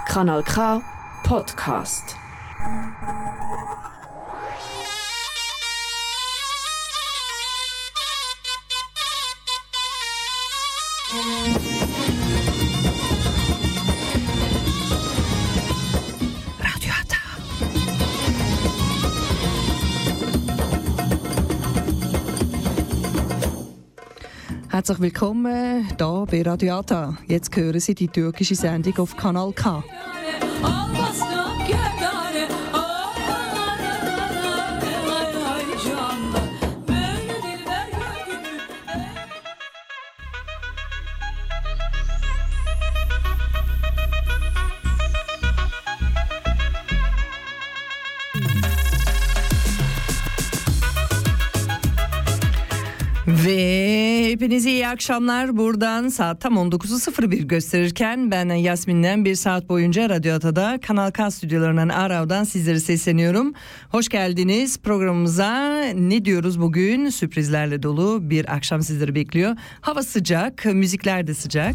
Kanal K Podcast. Radio Hata. Herzlich willkommen hier bei Radio Hata. Jetzt hören Sie die türkische Sendung auf Kanal K. Ve hepinize iyi akşamlar. Buradan saat tam 19.01 gösterirken ben Yasmin'den bir saat boyunca Radyo Ata'da Kanal K stüdyolarından Arav'dan sizlere sesleniyorum. Hoş geldiniz programımıza. Ne diyoruz bugün? Sürprizlerle dolu bir akşam sizleri bekliyor. Hava sıcak, müzikler de sıcak.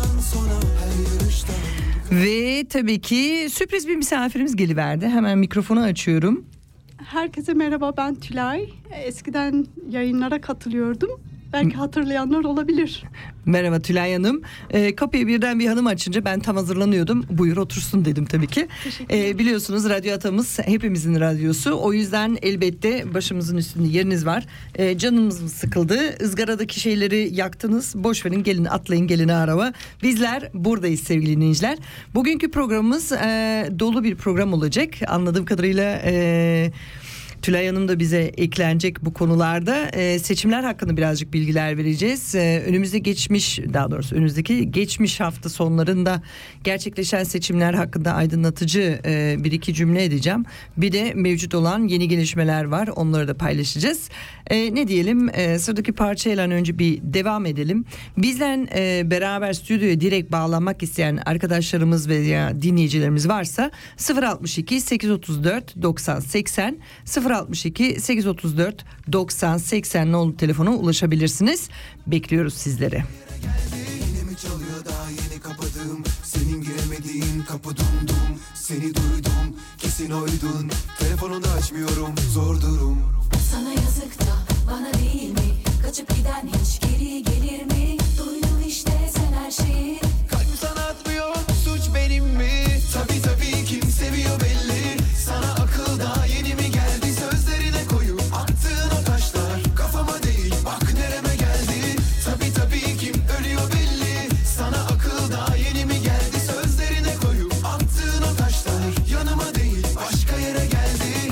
Ve tabii ki sürpriz bir misafirimiz geliverdi. Hemen mikrofonu açıyorum. Herkese merhaba, ben Tülay. Eskiden yayınlara katılıyordum. Belki hatırlayanlar olabilir. Merhaba Tülay Hanım. Kapıyı birden bir hanım açınca ben tam hazırlanıyordum. Buyur otursun dedim tabii ki. Biliyorsunuz Radyo Atamız hepimizin radyosu. O yüzden elbette başımızın üstünde yeriniz var. Canımız mı sıkıldı? Izgaradaki şeyleri yaktınız. Boş verin, gelin atlayın, gelin araba. Bizler buradayız sevgili dinleyiciler. Bugünkü programımız dolu bir program olacak. Anladığım kadarıyla... Tülay Hanım da bize eklenecek bu konularda. Seçimler hakkında birazcık bilgiler vereceğiz. Önümüzdeki geçmiş hafta sonlarında gerçekleşen seçimler hakkında aydınlatıcı bir iki cümle edeceğim. Bir de mevcut olan yeni gelişmeler var. Onları da paylaşacağız. Ne diyelim, sıradaki parçayla önce bir devam edelim. Bizden beraber stüdyoya direkt bağlanmak isteyen arkadaşlarımız veya dinleyicilerimiz varsa 062 834 90 80 062 834 90 80 nolu telefona ulaşabilirsiniz. Bekliyoruz sizleri. Yine mi çalıyor daha yeni kapadım. Senin giremediğin kapı dumdum. Seni duydum kesin oydun. Telefonunu açmıyorum zor durum. Sana yazık da bana değil mi? Kaçıp giden hiç geri gelir mi? Duydum işte sen her şeyi. Kalbim sana atmıyor, suç benim mi? Tabii kim seviyor belli. Sana akıl daha yeni mi geldi? Sözlerine koyup attığın o taşlar kafama değil bak nereme geldi. Tabii kim ölüyor belli. Sana akıl daha yeni mi geldi? Sözlerine koyup attığın o taşlar yanıma değil başka yere geldi.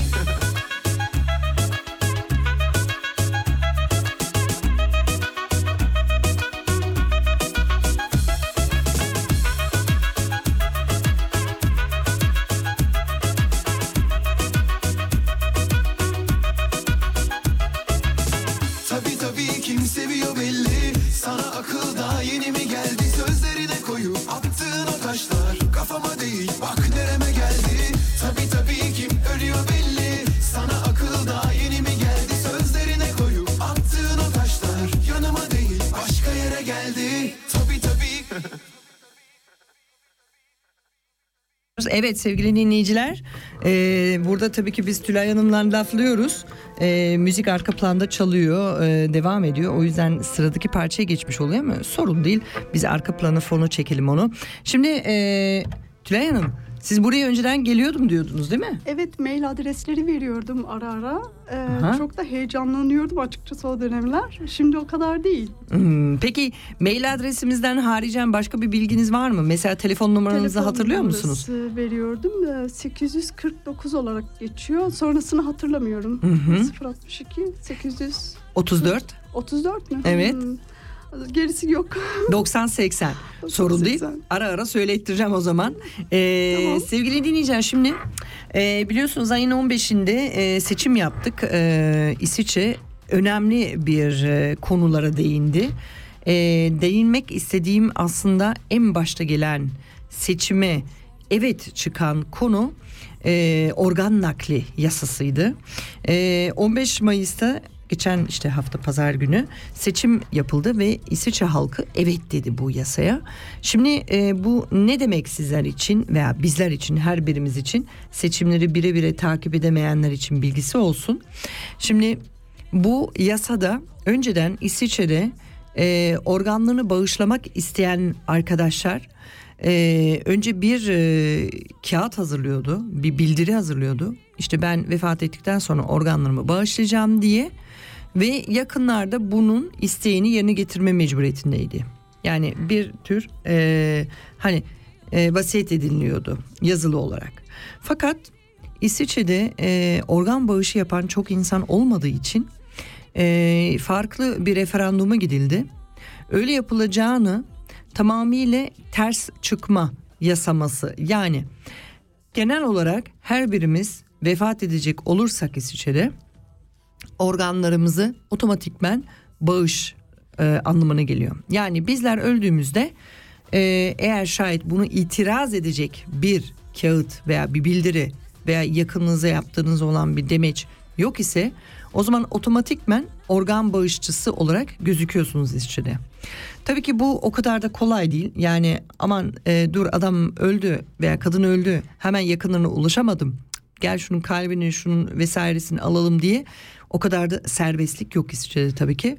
Tabii kim seviyor belli. Sana akıl daha yeni mi geldi? Sözlerine koyup attığın o taşlar kafama değil bak nereme geldi. Tabii kim ölüyor belli. Sana akıl daha yeni mi geldi? Sözlerine koyup attığın o taşlar yanıma değil başka yere geldi. Tabii. Evet sevgili dinleyiciler, burada tabii ki biz Tülay Hanım'la laflıyoruz. Müzik arka planda çalıyor, devam ediyor. O yüzden sıradaki parçaya geçmiş oluyor ama sorun değil. Biz arka plana fonu çekelim onu. Şimdi Tülay Hanım, siz buraya önceden geliyordum diyordunuz değil mi? Evet, mail adresleri veriyordum ara ara. Çok da heyecanlanıyordum açıkçası o dönemler. Şimdi o kadar değil. Peki mail adresimizden haricen başka bir bilginiz var mı? Mesela telefon numaranızı hatırlıyor musunuz? Veriyordum. 849 olarak geçiyor. Sonrasını hatırlamıyorum. 062 834 mü? Evet. Gerisi yok. 90-80. Sorun değil. Ara ara söylettireceğim o zaman. Tamam. Sevgili dinleyiciler, şimdi biliyorsunuz ayın 15'inde seçim yaptık. İsviçre önemli bir konulara değindi. Değinmek istediğim aslında en başta gelen seçime evet çıkan konu organ nakli yasasıydı. 15 Mayıs'ta geçen işte hafta pazar günü seçim yapıldı ve İsviçre halkı evet dedi bu yasaya. Şimdi bu ne demek sizler için veya bizler için, her birimiz için, seçimleri bire takip edemeyenler için bilgisi olsun. Şimdi bu yasada önceden İsviçre'de organlarını bağışlamak isteyen arkadaşlar önce bir kağıt hazırlıyordu, bir bildiri hazırlıyordu. İşte ben vefat ettikten sonra organlarımı bağışlayacağım diye ve yakınlarda bunun isteğini yerine getirme mecburiyetindeydi. Yani bir tür vasiyet ediliyordu yazılı olarak. Fakat İsviçre'de organ bağışı yapan çok insan olmadığı için farklı bir referanduma gidildi. Öyle yapılacağını tamamıyla ters çıkma yasaması, yani genel olarak her birimiz vefat edecek olursak İsviçre'de organlarımızı otomatikmen bağış anlamına geliyor. Yani bizler öldüğümüzde eğer şayet bunu itiraz edecek bir kağıt veya bir bildiri veya yakınınıza yaptığınız olan bir demeç yok ise o zaman otomatikmen organ bağışçısı olarak gözüküyorsunuz İsviçre'de. Tabii ki bu o kadar da kolay değil. Yani aman dur adam öldü veya kadın öldü, hemen yakınlarına ulaşamadım, gel şunun kalbini, şunun vesairesini alalım diye o kadar da serbestlik yok İsviçre'de tabii ki.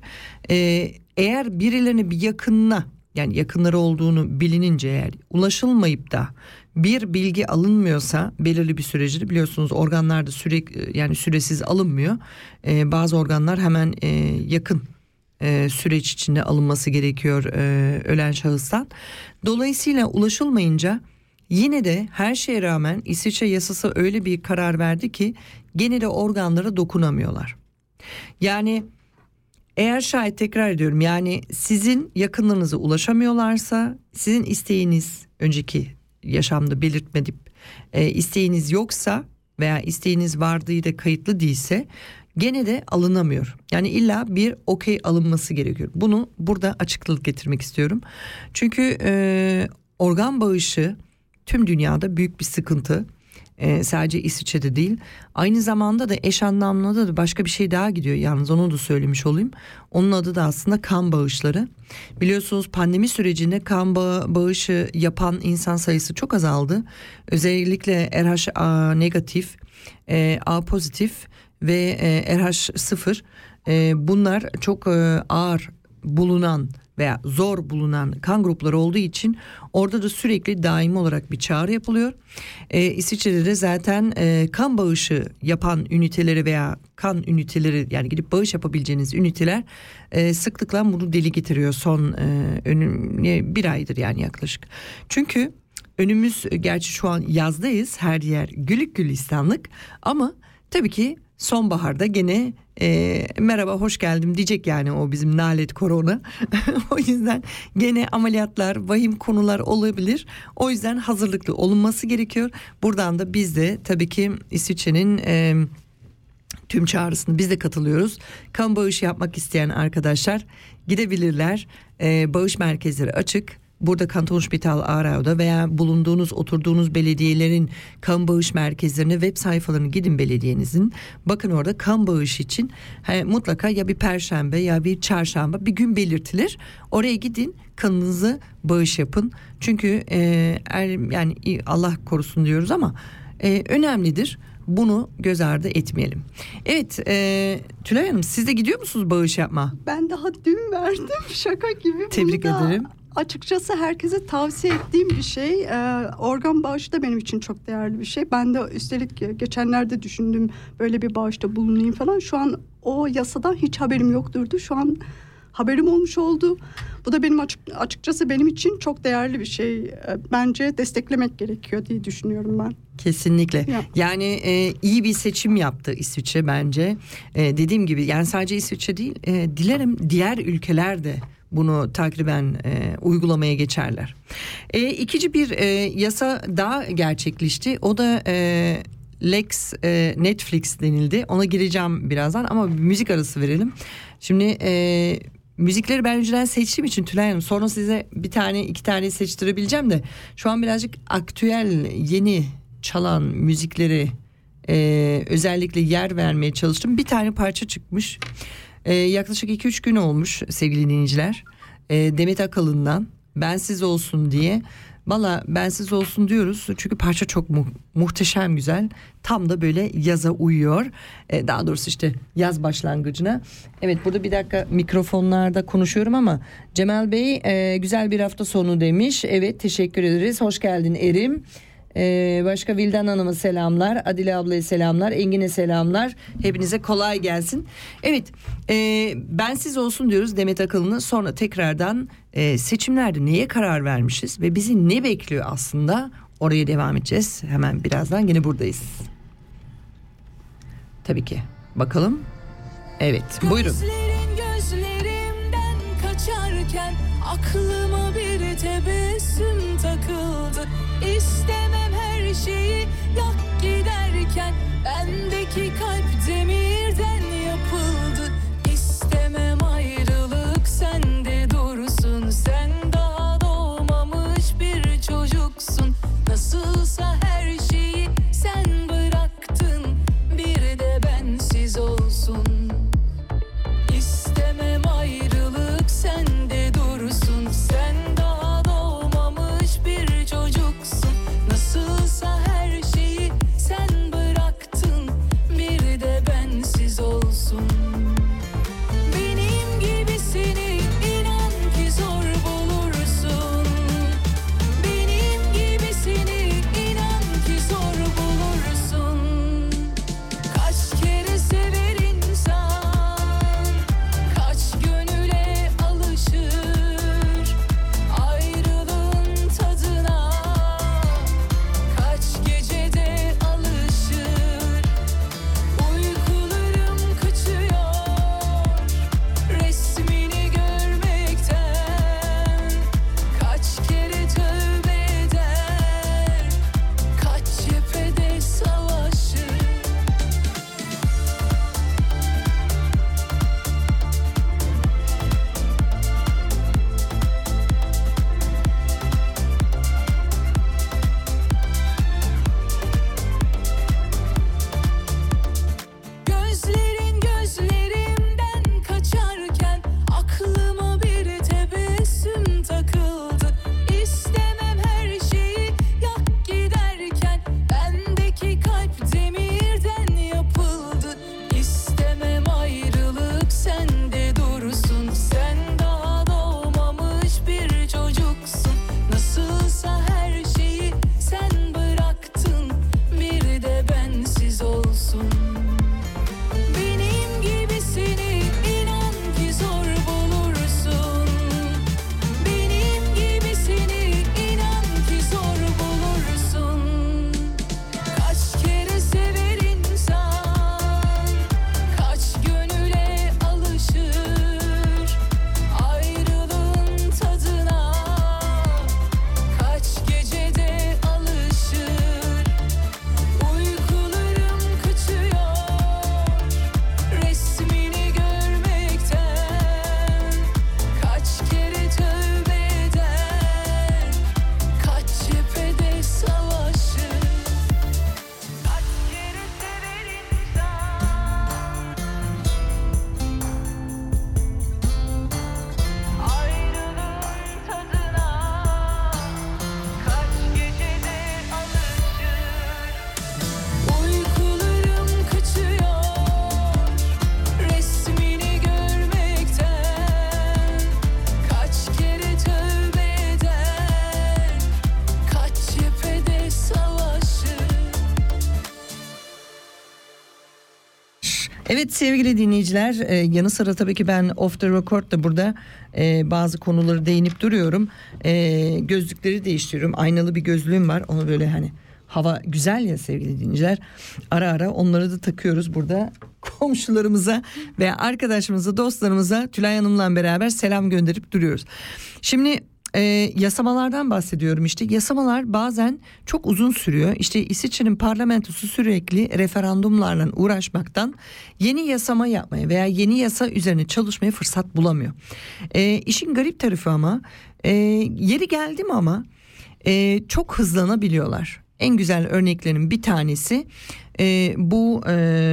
Eğer birilerine bir yakınına, yani yakınları olduğunu bilinince eğer ulaşılmayıp da bir bilgi alınmıyorsa belirli bir süreci, biliyorsunuz organlarda süresiz alınmıyor. Bazı organlar hemen yakın süreç içinde alınması gerekiyor ölen şahıstan. Dolayısıyla ulaşılmayınca yine de her şeye rağmen İsviçre yasası öyle bir karar verdi ki gene de organlara dokunamıyorlar. Yani eğer şayet, tekrar ediyorum, yani sizin yakınlarınıza ulaşamıyorlarsa, sizin isteğiniz önceki yaşamda belirtmedip isteğiniz yoksa veya isteğiniz vardığı da kayıtlı değilse gene de alınamıyor. Yani illa bir okey alınması gerekiyor. Bunu burada açıklık getirmek istiyorum. Çünkü organ bağışı tüm dünyada büyük bir sıkıntı. Sadece İsviçre'de değil, aynı zamanda da eş anlamlı da başka bir şey daha gidiyor. Yalnız onu da söylemiş olayım. Onun adı da aslında kan bağışları. Biliyorsunuz pandemi sürecinde kan bağışı yapan insan sayısı çok azaldı. Özellikle RH negatif, A pozitif ve RH sıfır, bunlar çok ağır bulunan veya zor bulunan kan grupları olduğu için orada da sürekli daimi olarak bir çağrı yapılıyor. İsviçre'de de zaten kan bağışı yapan üniteleri veya kan üniteleri, yani gidip bağış yapabileceğiniz üniteler sıklıkla bunu dile getiriyor son bir aydır yani yaklaşık. Çünkü önümüz, gerçi şu an yazdayız, her yer güllük gülistanlık, ama tabii ki sonbaharda gene merhaba hoş geldim diyecek yani o bizim nalet korona. O yüzden gene ameliyatlar, vahim konular olabilir. O yüzden hazırlıklı olunması gerekiyor. Buradan da biz de tabii ki İsviçre'nin tüm çağrısını biz de katılıyoruz. Kan bağışı yapmak isteyen arkadaşlar gidebilirler. Bağış merkezleri açık. Burada Kantonsspital Aarau'da veya bulunduğunuz, oturduğunuz belediyelerin kan bağış merkezlerine, web sayfalarına gidin belediyenizin. Bakın orada kan bağışı için mutlaka ya bir perşembe ya bir çarşamba bir gün belirtilir. Oraya gidin, kanınızı bağış yapın. Çünkü yani Allah korusun diyoruz ama önemlidir. Bunu göz ardı etmeyelim. Evet, Tülay Hanım, siz de gidiyor musunuz bağış yapma? Ben daha dün verdim, şaka gibi. Tebrik ederim. Açıkçası herkese tavsiye ettiğim bir şey. Organ bağışı da benim için çok değerli bir şey. Ben de üstelik geçenlerde düşündüm böyle bir bağışta bulunayım falan. Şu an o yasadan hiç haberim yokturdu. Şu an haberim olmuş oldu. Bu da benim açıkçası benim için çok değerli bir şey. Bence desteklemek gerekiyor diye düşünüyorum ben. Kesinlikle. Yani iyi bir seçim yaptı İsviçre bence. Dediğim gibi yani sadece İsviçre değil, dilerim diğer ülkeler de bunu takriben uygulamaya geçerler. İkinci bir yasa daha gerçekleşti. O da Lex Netflix denildi. Ona gireceğim birazdan ama bir müzik arası verelim. Şimdi müzikleri ben önceden seçtiğim için Tülay Hanım, sonra size bir tane iki tane seçtirebileceğim de şu an birazcık aktüel yeni çalan müzikleri özellikle yer vermeye çalıştım. Bir tane parça çıkmış. Yaklaşık 2-3 gün olmuş sevgili dinleyiciler. Demet Akalın'dan Bensiz Olsun diye. Valla bensiz olsun diyoruz çünkü parça çok muhteşem güzel. Tam da böyle yaza uyuyor. Daha doğrusu işte yaz başlangıcına. Evet, burada bir dakika mikrofonlarda konuşuyorum ama Cemal Bey güzel bir hafta sonu demiş. Evet, teşekkür ederiz. Hoş geldin Erim. Başka Vildan Hanım'a selamlar, Adile ablaya selamlar, Engin'e selamlar, hepinize kolay gelsin. Evet, bensiz olsun diyoruz Demet Akalın'a. Sonra tekrardan seçimlerde neye karar vermişiz ve bizi ne bekliyor aslında, oraya devam edeceğiz. Hemen birazdan yine buradayız. Tabii ki bakalım. Evet, buyurun. Gözlerimden kaçarken aklıma bir tebessüm takıldı. İstemem her şeyi yak giderken bendeki kalp demirden yapıldı. İstemem ayrılık sende dursun. Sen daha doğmamış bir çocuksun. Nasılsa her şeyi sen bıraktın. Bir de bensiz olsun. İstemem ayrılık sende dursun. Sen daha doğmamış bir çocuksun. Nasılsa her şeyi sen bıraktın. Bir de bensiz olsun. Benim gibisini inan ki zor bulursun. Benim gibisini inan ki zor bulursun. Kaç kere sever insan, kaç gönüle alışır ayrılığın tadına, kaç gecede alışır. Uykularım kaçıyor resmini görmekten. Kaç kere tövbe eder, kaç cephede savaşır. Gözlerin gözlerimden kaçarken aklıma bir tebessüm takıldı. İstemem her şeyi yak giderken bendeki kalp demirden yapıldı. İstemem ayrılık sende dursun. Sen daha doğmamış bir çocuksun. Nasılsa her şeyi sen bıraktın. Bir de bensiz olsun. Benim gibisini inan ki zor bulursun. Benim gibisini inan ki zor bulursun. Kaç kere sever insan, kaç gönüle alışır ayrılığın tadına, kaç gecede alışır. Uykularım kaçıyor resmini görmekten. Kaç kere tövbe eder, kaç cephede savaşır. Kaç kere sever insan, ayrılığın tadına, kaç gecede alışır. Uykularım kaçıyor resmini görmekten. Kaç kere tövbe eder, kaç cephede savaşır. Evet sevgili dinleyiciler, yanı sıra tabii ki ben off the record da burada bazı konuları değinip duruyorum. Gözlükleri değiştiriyorum. Aynalı bir gözlüğüm var. Onu böyle hani hava güzel ya sevgili dinleyiciler. Ara ara onları da takıyoruz burada. Komşularımıza ve arkadaşlarımıza, dostlarımıza Tülay Hanım'la beraber selam gönderip duruyoruz. Şimdi yasamalardan bahsediyorum işte. Yasamalar bazen çok uzun sürüyor. İşte İsviçre'nin parlamentosu sürekli referandumlarla uğraşmaktan yeni yasama yapmaya veya yeni yasa üzerine çalışmaya fırsat bulamıyor. İşin garip tarafı ama yeri geldi mi ama çok hızlanabiliyorlar. en güzel örneklerin bir tanesi bu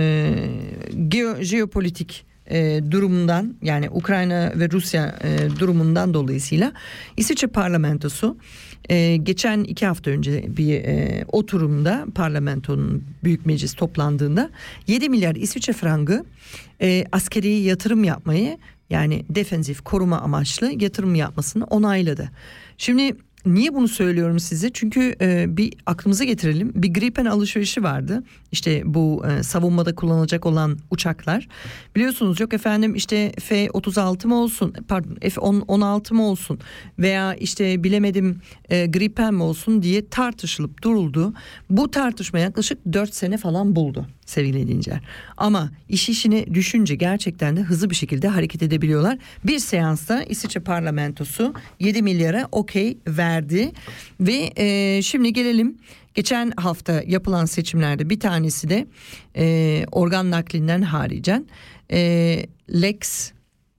jeopolitik durumundan, yani Ukrayna ve Rusya durumundan dolayısıyla İsviçre parlamentosu geçen 2 hafta önce bir oturumda, parlamentonun büyük meclis toplandığında 7 milyar İsviçre frangı askeri yatırım yapmayı, yani defensif koruma amaçlı yatırım yapmasını onayladı. Şimdi niye bunu söylüyorum size? Çünkü bir aklımıza getirelim. Bir Gripen alışverişi vardı. İşte bu savunmada kullanılacak olan uçaklar. Biliyorsunuz, yok efendim işte F-36 mı olsun, pardon F-16 mı olsun veya işte bilemedim Gripen mi olsun diye tartışılıp duruldu. Bu tartışma yaklaşık 4 sene falan buldu sevgili dinleyiciler. Ama işini düşünce gerçekten de hızlı bir şekilde hareket edebiliyorlar. Bir seansta İsviçre parlamentosu 7 milyara okey verdi ve şimdi gelelim. Geçen hafta yapılan seçimlerde bir tanesi de organ naklinden haricen Lex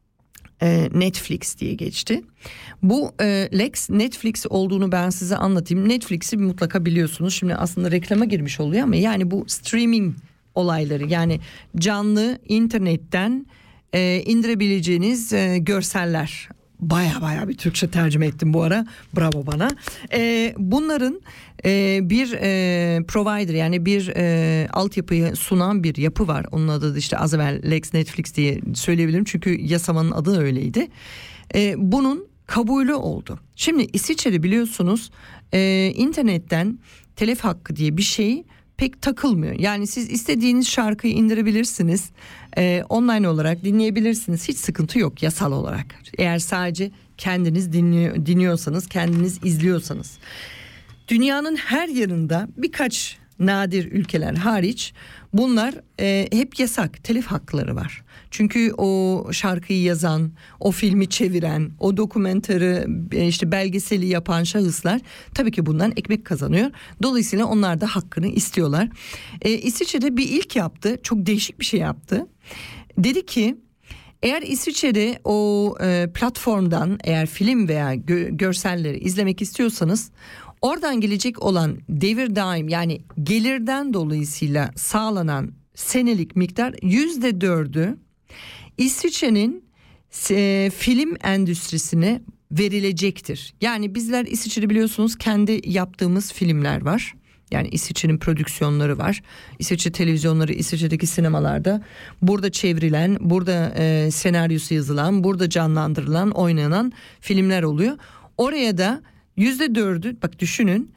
Netflix diye geçti. Bu Lex Netflix olduğunu ben size anlatayım. Netflix'i mutlaka biliyorsunuz. Şimdi aslında reklama girmiş oluyor ama yani bu streaming olayları, yani canlı internetten indirebileceğiniz görseller. Baya bir Türkçe tercüme ettim bu ara. Bravo bana. Bunların bir provider, yani bir altyapıyı sunan bir yapı var. Onun adı da işte az evvel Lex Netflix diye söyleyebilirim. Çünkü yasamanın adı öyleydi. Bunun kabulü oldu. Şimdi İsviçre'de biliyorsunuz internetten telif hakkı diye bir şey pek takılmıyor. Yani siz istediğiniz şarkıyı indirebilirsiniz. Online olarak dinleyebilirsiniz. Hiç sıkıntı yok yasal olarak. Eğer sadece kendiniz dinliyorsanız, kendiniz izliyorsanız. Dünyanın her yanında birkaç nadir ülkeler hariç bunlar hep yasak. Telif hakları var. Çünkü o şarkıyı yazan, o filmi çeviren, o dokumentarı, işte belgeseli yapan şahıslar tabii ki bundan ekmek kazanıyor. Dolayısıyla onlar da hakkını istiyorlar. İsviçre'de bir ilk yaptı. Çok değişik bir şey yaptı. Dedi ki eğer İsviçre'de o platformdan eğer film veya görselleri izlemek istiyorsanız, oradan gelecek olan devir daim, yani gelirden dolayısıyla sağlanan senelik miktar %4'ü İsviçre'nin film endüstrisine verilecektir. Yani bizler İsviçre'de biliyorsunuz kendi yaptığımız filmler var. Yani İsviçre'nin prodüksiyonları var. İsviçre televizyonları, İsviçre'deki sinemalarda burada çevrilen, burada senaryosu yazılan, burada canlandırılan, oynanan filmler oluyor. Oraya da %4'ü, bak düşünün,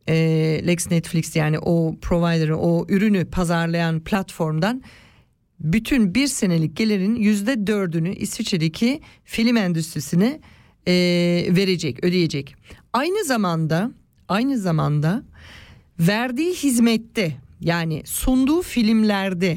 Lex Netflix, yani o provider'ı, o ürünü pazarlayan platformdan bütün bir senelik gelirin %4'ünü İsviçre'deki film endüstrisine verecek, ödeyecek. Aynı zamanda verdiği hizmette, yani sunduğu filmlerde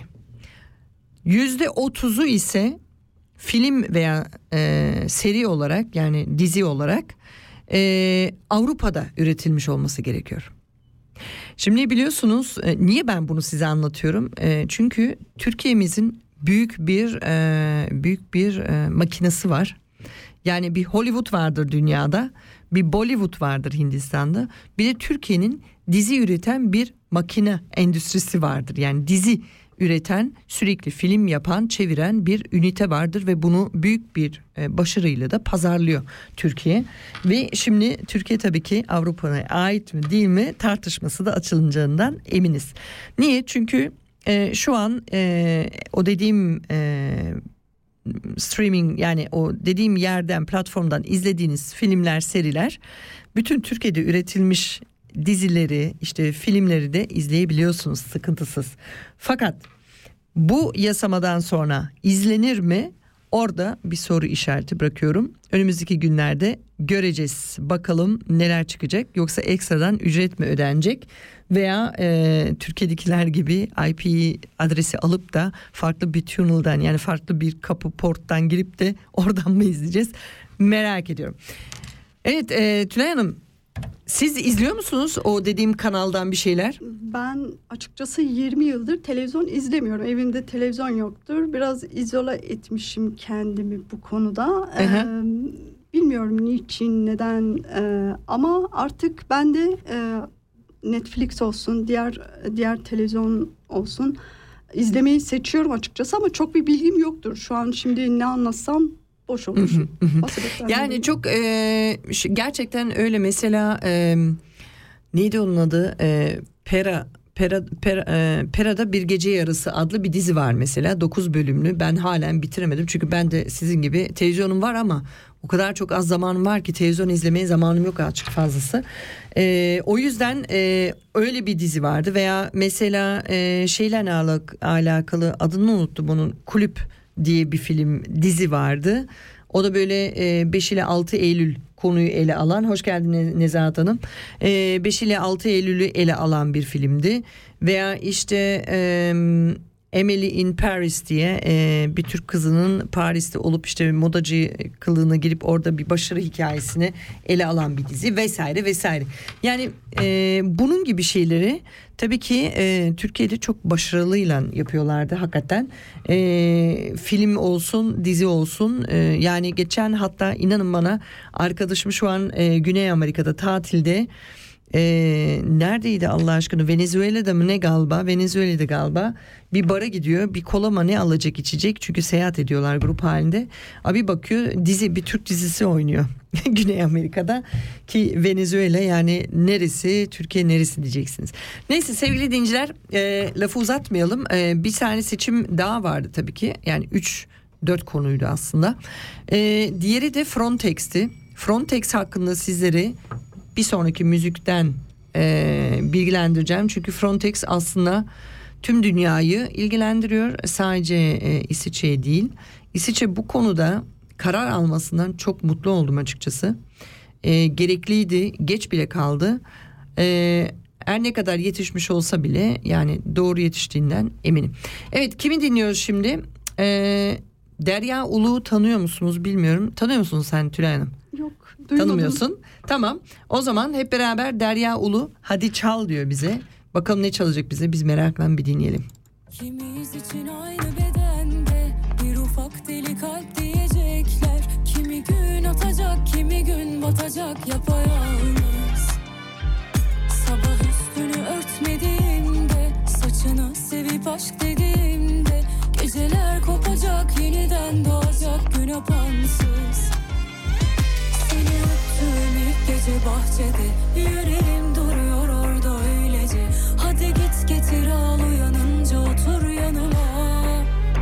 %30'u ise film veya seri olarak, yani dizi olarak Avrupa'da üretilmiş olması gerekiyor. Şimdi biliyorsunuz niye ben bunu size anlatıyorum? Çünkü Türkiye'mizin büyük bir makinesi var. Yani bir Hollywood vardır dünyada, bir Bollywood vardır Hindistan'da. Bir de Türkiye'nin dizi üreten bir makine endüstrisi vardır. Yani dizi üreten, sürekli film yapan, çeviren bir ünite vardır ve bunu büyük bir başarıyla da pazarlıyor Türkiye. Ve şimdi Türkiye tabii ki Avrupa'ya ait mi değil mi tartışması da açılacağından eminiz. Niye? Çünkü şu an o dediğim streaming, yani o dediğim yerden, platformdan izlediğiniz filmler, seriler, bütün Türkiye'de üretilmiş dizileri, işte filmleri de izleyebiliyorsunuz sıkıntısız. Fakat bu yasamadan sonra izlenir mi? Orada bir soru işareti bırakıyorum. Önümüzdeki günlerde göreceğiz. Bakalım neler çıkacak. Yoksa ekstradan ücret mi ödenecek? Veya Türkiye'dekiler gibi IP adresi alıp da farklı bir tunnel'dan, yani farklı bir kapı porttan girip de oradan mı izleyeceğiz? Merak ediyorum. Evet Tülay Hanım, siz izliyor musunuz o dediğim kanaldan bir şeyler? Ben açıkçası 20 yıldır televizyon izlemiyorum. Evimde televizyon yoktur. Biraz izole etmişim kendimi bu konuda. Bilmiyorum niçin, neden, ama artık ben de Netflix olsun, diğer televizyon olsun izlemeyi seçiyorum açıkçası ama çok bir bilgim yoktur. Şu an şimdi ne anlatsam boş olur. Yani çok gerçekten öyle. Mesela neydi onun adı? Pera'da Bir Gece Yarısı adlı bir dizi var mesela, 9 bölümlü. Ben halen bitiremedim çünkü ben de sizin gibi televizyonum var ama o kadar çok az zamanım var ki televizyon izlemeye zamanım yok, açık fazlası. O yüzden öyle bir dizi vardı. Veya mesela şeyle alakalı, adını unuttum onun, Kulüp diye bir dizi vardı. O da böyle 5 ile 6 Eylül konuyu ele alan, hoş geldin Nezahat Hanım, 5 ile 6 Eylül'ü ele alan bir filmdi. Veya işte Emily in Paris diye bir Türk kızının Paris'te olup işte modacı kılığına girip orada bir başarı hikayesini ele alan bir dizi vesaire vesaire. Yani bunun gibi şeyleri tabii ki Türkiye'de çok başarılıyla yapıyorlardı hakikaten. Film olsun, dizi olsun. Yani geçen, hatta inanın bana, arkadaşım şu an Güney Amerika'da tatilde. Neredeydi Allah aşkına, Venezuela'da mı ne galiba, Venezuela'da galiba, bir bara gidiyor, bir kola mı ne alacak içecek, çünkü seyahat ediyorlar grup halinde. Abi bakıyor bir Türk dizisi oynuyor Güney Amerika'da, ki Venezuela yani neresi, Türkiye neresi diyeceksiniz. Neyse sevgili dinleyiciler, lafı uzatmayalım. Bir tane seçim daha vardı tabii ki, yani 3-4 konuydu aslında. Diğeri de Frontex'ti. Frontex hakkında sizleri bir sonraki müzikten bilgilendireceğim. Çünkü Frontex aslında tüm dünyayı ilgilendiriyor. Sadece İsviçre değil. İsviçre bu konuda karar almasından çok mutlu oldum açıkçası. Gerekliydi. Geç bile kaldı. Her ne kadar yetişmiş olsa bile yani doğru yetiştiğinden eminim. Evet, kimi dinliyoruz şimdi? Derya Ulu tanıyor musunuz bilmiyorum. Tanıyor musun sen Tülay Hanım? Yok, duymadım. Tanımıyorsun. Tamam. O zaman hep beraber Derya Ulu hadi çal diyor bize. Bakalım ne çalacak bize, biz merakla bir dinleyelim. Kimiz için aynı bedende bir ufak deli kalp diyecekler. Kimi gün atacak, kimi gün batacak yapayalnız. Sabah üstünü örtmediğimde, saçını sevip aşk dediğimde, geceler kopacak, yeniden doğacak gün apansız. Seni öptüğüm ilk gece bahçede, yüreğim duruyor orada öylece. Hadi git getir al, uyanınca otur yanıma.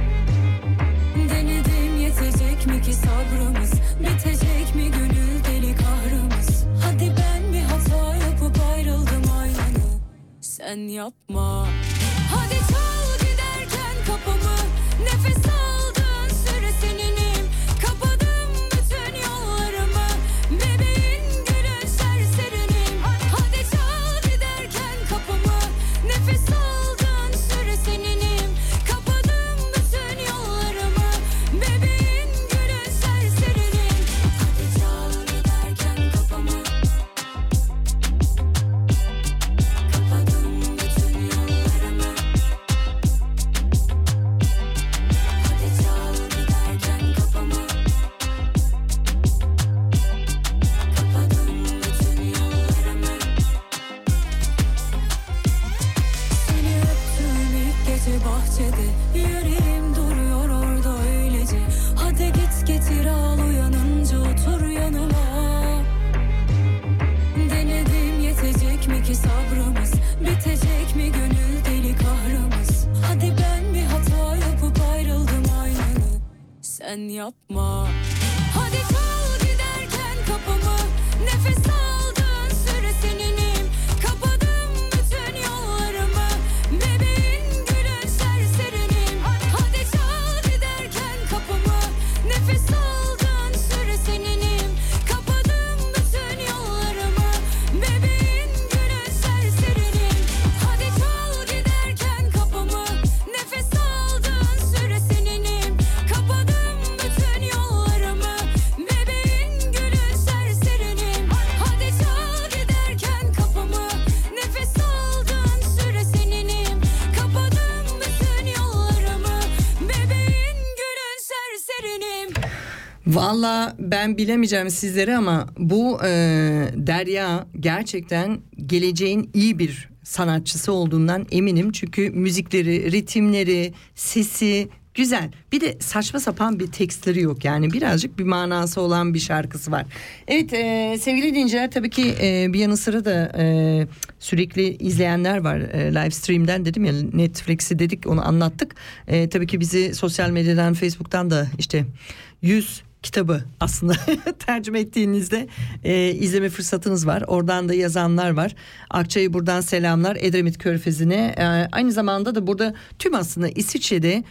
Denedim, yetecek mi ki sabrımız, bitecek mi gönül deli kahrımız. Hadi ben bir hata yapıp ayrıldım aynanı, sen yapma. Hadi çal giderken kapımı, nefes aldığın süre seninim. Kapadım bütün yollarımı, bebeğin gülün serserinim. Hadi çal giderken kapımı, nefes aldığın süre seninim. Kapadım bütün yollarımı, bebeğin gülün serserinim. Hadi çal giderken kapımı, kapadım bütün yollarımı. Hadi çal giderken kapımı, kapadım bütün yollarımı. Seni öptüğüm ilk gece bahçede, yüreğim duruyor orada öylece. Hadi git getir al, uyanınca otur yanıma. Denedim, yetecek mi ki sabrımız, bitecek mi gönül deli kahrımız. Hadi ben bir hata yapıp ayrıldım aynanı, sen yapma. Hadi çal giderken kapımı, nefes aldığın süre seninim. Kapadım bütün yollarımı, bebeğin gülün serserinim. Hadi çal giderken kapımı, nefes aldığın süre seninim. Kapadım bütün yollarımı, bebeğin gülün serserinim. Hadi çal giderken kapımı, nefes aldığın süre seninim. Kapadım bütün yollarımı, bebeğin gülün serserinim. Hadi Valla ben bilemeyeceğim sizlere ama bu Derya gerçekten geleceğin iyi bir sanatçısı olduğundan eminim. Çünkü müzikleri, ritimleri, sesi güzel. Bir de saçma sapan bir tekstleri yok. Yani birazcık bir manası olan bir şarkısı var. Evet sevgili dinleyiciler, tabii ki bir yanı sıra da sürekli izleyenler var. Live stream'den dedim ya, Netflix'i dedik, onu anlattık. Tabii ki bizi sosyal medyadan, Facebook'tan da işte 100 kitabı aslında tercüme ettiğinizde izleme fırsatınız var. Oradan da yazanlar var. Akçay'a buradan selamlar. Edremit Körfezi'ne. Aynı zamanda da burada tüm aslında İsviçre'de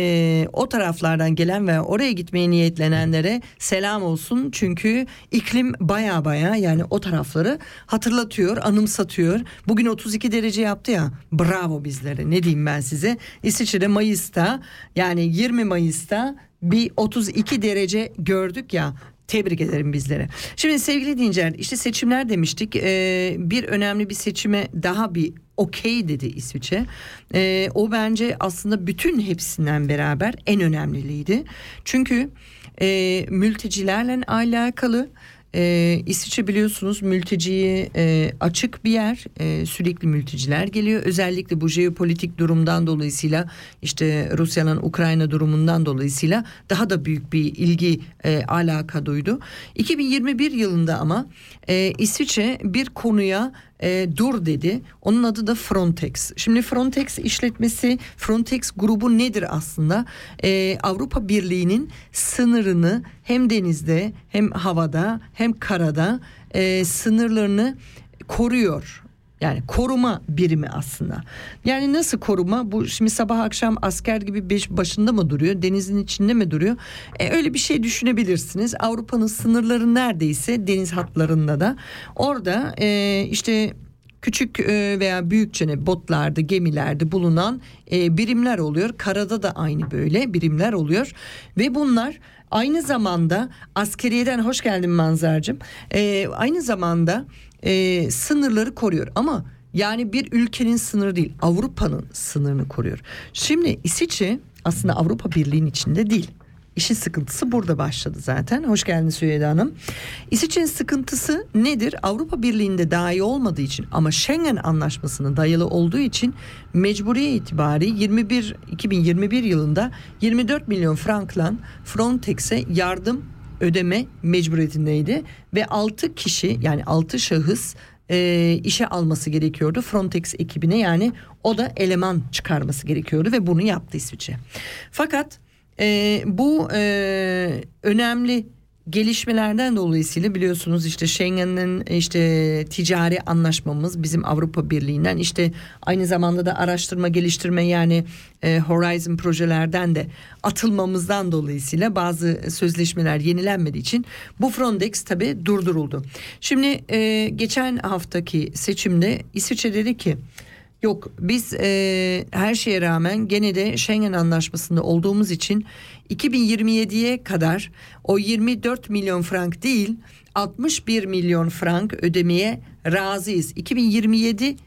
o taraflardan gelen ve oraya gitmeye niyetlenenlere selam olsun. Çünkü iklim baya yani o tarafları hatırlatıyor, anımsatıyor. Bugün 32 derece yaptı ya. Bravo bizlere. Ne diyeyim ben size. İsviçre'de Mayıs'ta, yani 20 Mayıs'ta bir 32 derece gördük ya. Tebrik ederim bizlere. Şimdi sevgili dinleyiciler, işte seçimler demiştik. Bir önemli bir seçime daha bir okey dedi İsviçre. O bence aslında bütün hepsinden beraber en önemliydi. Çünkü mültecilerle alakalı. İsviçre biliyorsunuz mülteciye açık bir yer, sürekli mülteciler geliyor. Özellikle bu jeopolitik durumdan dolayısıyla, işte Rusya'nın Ukrayna durumundan dolayısıyla daha da büyük bir ilgi alaka duydu. 2021 yılında ama İsviçre bir konuya dur dedi. Onun adı da Frontex. Şimdi Frontex işletmesi, Frontex grubu nedir aslında? Avrupa Birliği'nin sınırını hem denizde hem havada hem karada sınırlarını koruyor. Yani koruma birimi aslında. Yani nasıl koruma? Bu şimdi sabah akşam asker gibi başında mı duruyor? Denizin içinde mi duruyor? Öyle bir şey düşünebilirsiniz. Avrupa'nın sınırları neredeyse deniz hatlarında da. Orada işte küçük veya büyükçe botlarda, gemilerde bulunan birimler oluyor. Karada da aynı böyle birimler oluyor. Ve bunlar aynı zamanda askeriyeden, hoş geldin Manzar'cığım. Aynı zamanda sınırları koruyor. Ama yani bir ülkenin sınırı değil, Avrupa'nın sınırını koruyor. Şimdi İsviçre aslında Avrupa Birliği'nin içinde değil. İşin sıkıntısı burada başladı zaten. Hoş geldiniz Süheyda Hanım. İsviçre'nin sıkıntısı nedir? Avrupa Birliği'nde dahi olmadığı için ama Schengen Anlaşması'na dayalı olduğu için mecburiye itibari 2021 yılında 24 milyon frankla Frontex'e yardım ödeme mecburiyetindeydi ve 6 kişi, yani 6 şahıs işe alması gerekiyordu Frontex ekibine, yani o da eleman çıkarması gerekiyordu ve bunu yaptı İsviçre. Fakat bu önemli gelişmelerden dolayısıyla biliyorsunuz işte Schengen'in işte ticari anlaşmamız bizim Avrupa Birliği'nden, işte aynı zamanda da araştırma geliştirme yani Horizon projelerden de atılmamızdan dolayısıyla bazı sözleşmeler yenilenmediği için bu Frontex tabii durduruldu. Şimdi geçen haftaki seçimde İsviçre dedi ki yok biz her şeye rağmen gene de Schengen Anlaşması'nda olduğumuz için 2027'ye kadar o 24 milyon frank değil 61 milyon frank ödemeye razıyız. 2027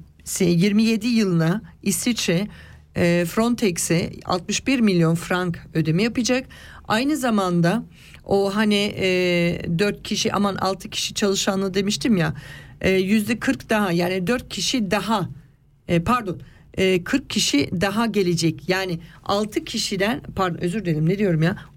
yılına İsviçre Frontex'e 61 milyon frank ödeme yapacak. Aynı zamanda o hani 4 kişi 6 kişi çalışanlı demiştim ya, %40 daha, yani 4 kişi daha 40 kişi daha gelecek. Yani 6 kişiden özür dilerim ne diyorum ya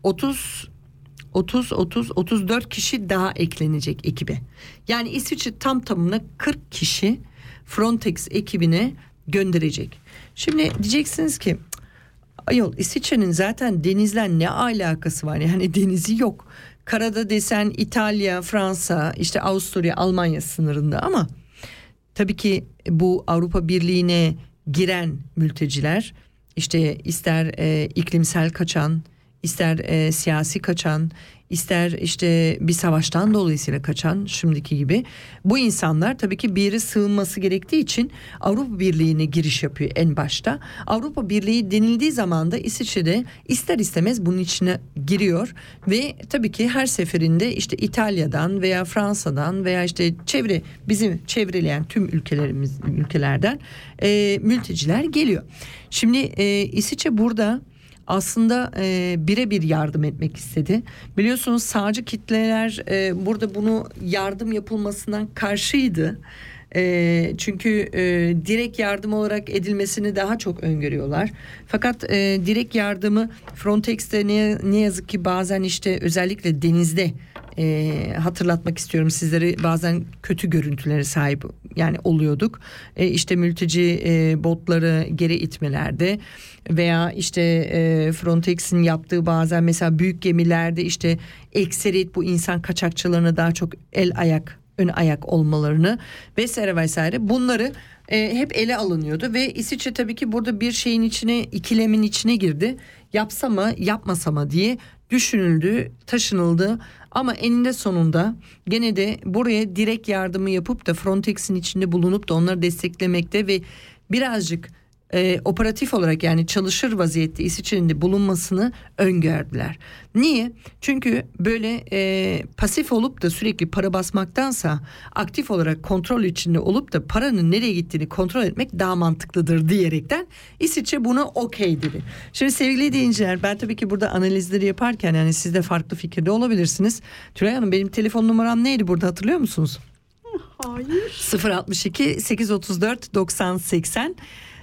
34 kişi daha eklenecek ekibe. Yani İsviçre tam tamına 40 kişi Frontex ekibine gönderecek. Şimdi diyeceksiniz ki ayol İsviçre'nin zaten denizle ne alakası var? Yani denizi yok. Karada desen İtalya, Fransa, işte Avusturya, Almanya sınırında ama tabii ki bu Avrupa Birliği'ne giren mülteciler işte ister iklimsel kaçan, ister siyasi kaçan, ister işte bir savaştan dolayısıyla kaçan şimdiki gibi bu insanlar tabii ki bir yere sığınması gerektiği için Avrupa Birliği'ne giriş yapıyor en başta. Avrupa Birliği denildiği zaman da İsviçre'de ister istemez bunun içine giriyor ve tabii ki her seferinde işte İtalya'dan veya Fransa'dan veya işte bizim çevreleyen tüm ülkelerden mülteciler geliyor. Şimdi İsviçre burada aslında birebir yardım etmek istedi. Biliyorsunuz sağcı kitleler burada bunu yardım yapılmasından karşıydı. Çünkü direkt yardım olarak edilmesini daha çok öngörüyorlar. Fakat direkt yardımı Frontex'te ne yazık ki bazen işte özellikle denizde hatırlatmak istiyorum sizlere, bazen kötü görüntülere sahip yani oluyorduk. İşte mülteci botları geri itmelerde veya işte Frontex'in yaptığı bazen mesela büyük gemilerde işte ekseriyet bu insan kaçakçılarına daha çok ön ayak olmalarını vesaire bunları hep ele alınıyordu ve İsviçre tabii ki burada bir şeyin içine, ikilemin içine girdi. Yapsa mı yapmasa mı diye düşünüldü, taşınıldı ama eninde sonunda gene de buraya direkt yardımı yapıp da Frontex'in içinde bulunup da onları desteklemekte ve birazcık operatif olarak yani çalışır vaziyette İsviçre'nin de bulunmasını öngördüler. Niye? Çünkü böyle pasif olup da sürekli para basmaktansa aktif olarak kontrol içinde olup da paranın nereye gittiğini kontrol etmek daha mantıklıdır diyerekten İsviçre buna okey dedi. Şimdi sevgili dinleyiciler, ben tabii ki burada analizleri yaparken yani siz de farklı fikirde olabilirsiniz. Tülay Hanım, benim telefon numaram neydi burada, hatırlıyor musunuz? Hayır. 062 834 90 80.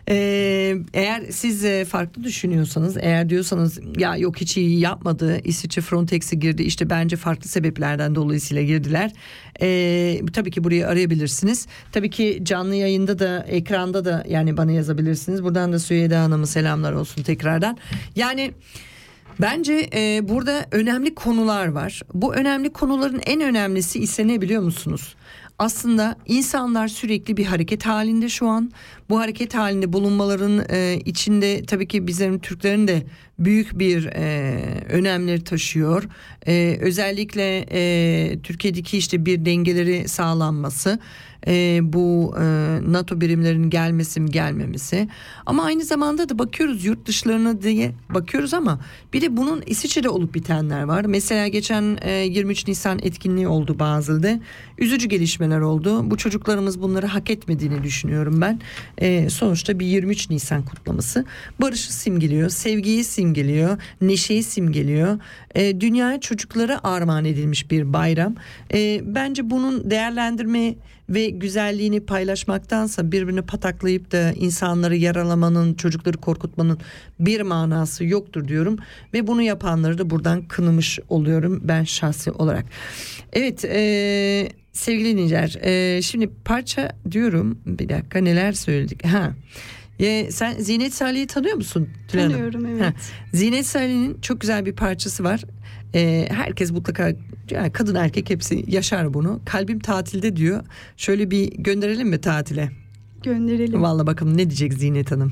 Eğer siz farklı düşünüyorsanız, eğer diyorsanız ya yok hiç iyi yapmadı, İsviçre Frontex'e girdi, işte bence farklı sebeplerden dolayısıyla girdiler, tabii ki burayı arayabilirsiniz. Tabii ki canlı yayında da, ekranda da yani bana yazabilirsiniz. Buradan da Süheyda Hanım'a selamlar olsun tekrardan. Yani bence burada önemli konular var. Bu önemli konuların en önemlisi ise ne biliyor musunuz? Aslında insanlar sürekli bir hareket halinde şu an. Bu hareket halinde bulunmaların içinde tabii ki bizlerin, Türklerin de büyük bir önemleri taşıyor. Özellikle Türkiye'deki işte bir dengeleri sağlanması, bu NATO birimlerinin gelmesi mi gelmemesi. Ama aynı zamanda da bakıyoruz yurt dışlarına diye bakıyoruz ama bir de bunun İsviçre'de olup bitenler var. Mesela geçen 23 Nisan etkinliği oldu Basel'de. Üzücü gelişmeler oldu. Bu çocuklarımız bunları hak etmediğini düşünüyorum ben. Sonuçta bir 23 Nisan kutlaması barışı simgeliyor, sevgiyi simgeliyor, neşeyi simgeliyor. Dünyaya çocuklara armağan edilmiş bir bayram. Bence bunun değerlendirme ve güzelliğini paylaşmaktansa birbirini pataklayıp da insanları yaralamanın, çocukları korkutmanın bir manası yoktur diyorum. Ve bunu yapanları da buradan kınamış oluyorum ben şahsi olarak. Evet, sevgili dinleyiciler, şimdi parça diyorum, bir dakika neler söyledik. Sen Zinet Salih'i tanıyor musun? Tanıyorum, evet. Zinet Salih'in çok güzel bir parçası var. Herkes mutlaka, yani kadın erkek hepsi yaşar bunu. Kalbim tatilde diyor. Şöyle bir gönderelim mi tatile? Gönderelim. Vallahi bakalım ne diyecek Zinet Hanım.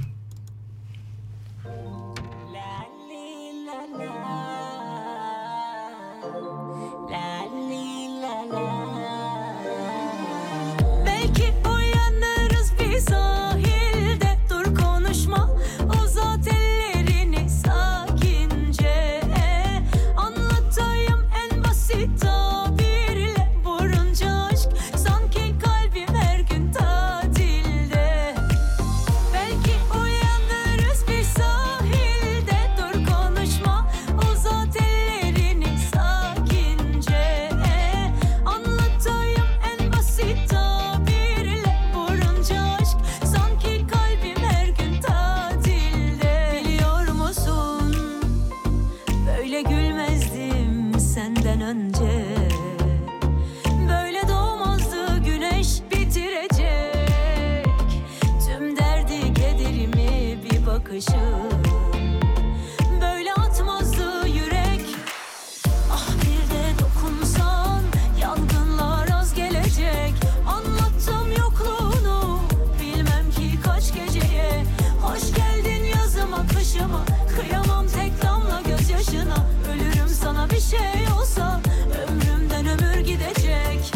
Belki uyanırız bir sahilde, dur konuşma, uzat ellerini sakince, anlatayım en basit tabirle, vurunca aşk sanki kalbim her gün tatilde. Belki uyanırız bir sahilde, dur konuşma, uzat ellerini sakince, anlatayım en basit tabirle, vurunca aşk sanki kalbim her gün tatilde. Biliyor musun, böyle gülmezdim senden önce, böyle doğmazdı güneş bitirecek tüm derdi kederimi bir bakışım, böyle atmazdı yürek. Ah bir de dokunsan yangınlar az gelecek. Anlattım yokluğunu bilmem ki kaç geceye. Hoş geldin yazıma kışıma, kıyamam tek damla gözyaşına. Ölürüm sana bir şey olsa, ömrümden ömür gidecek.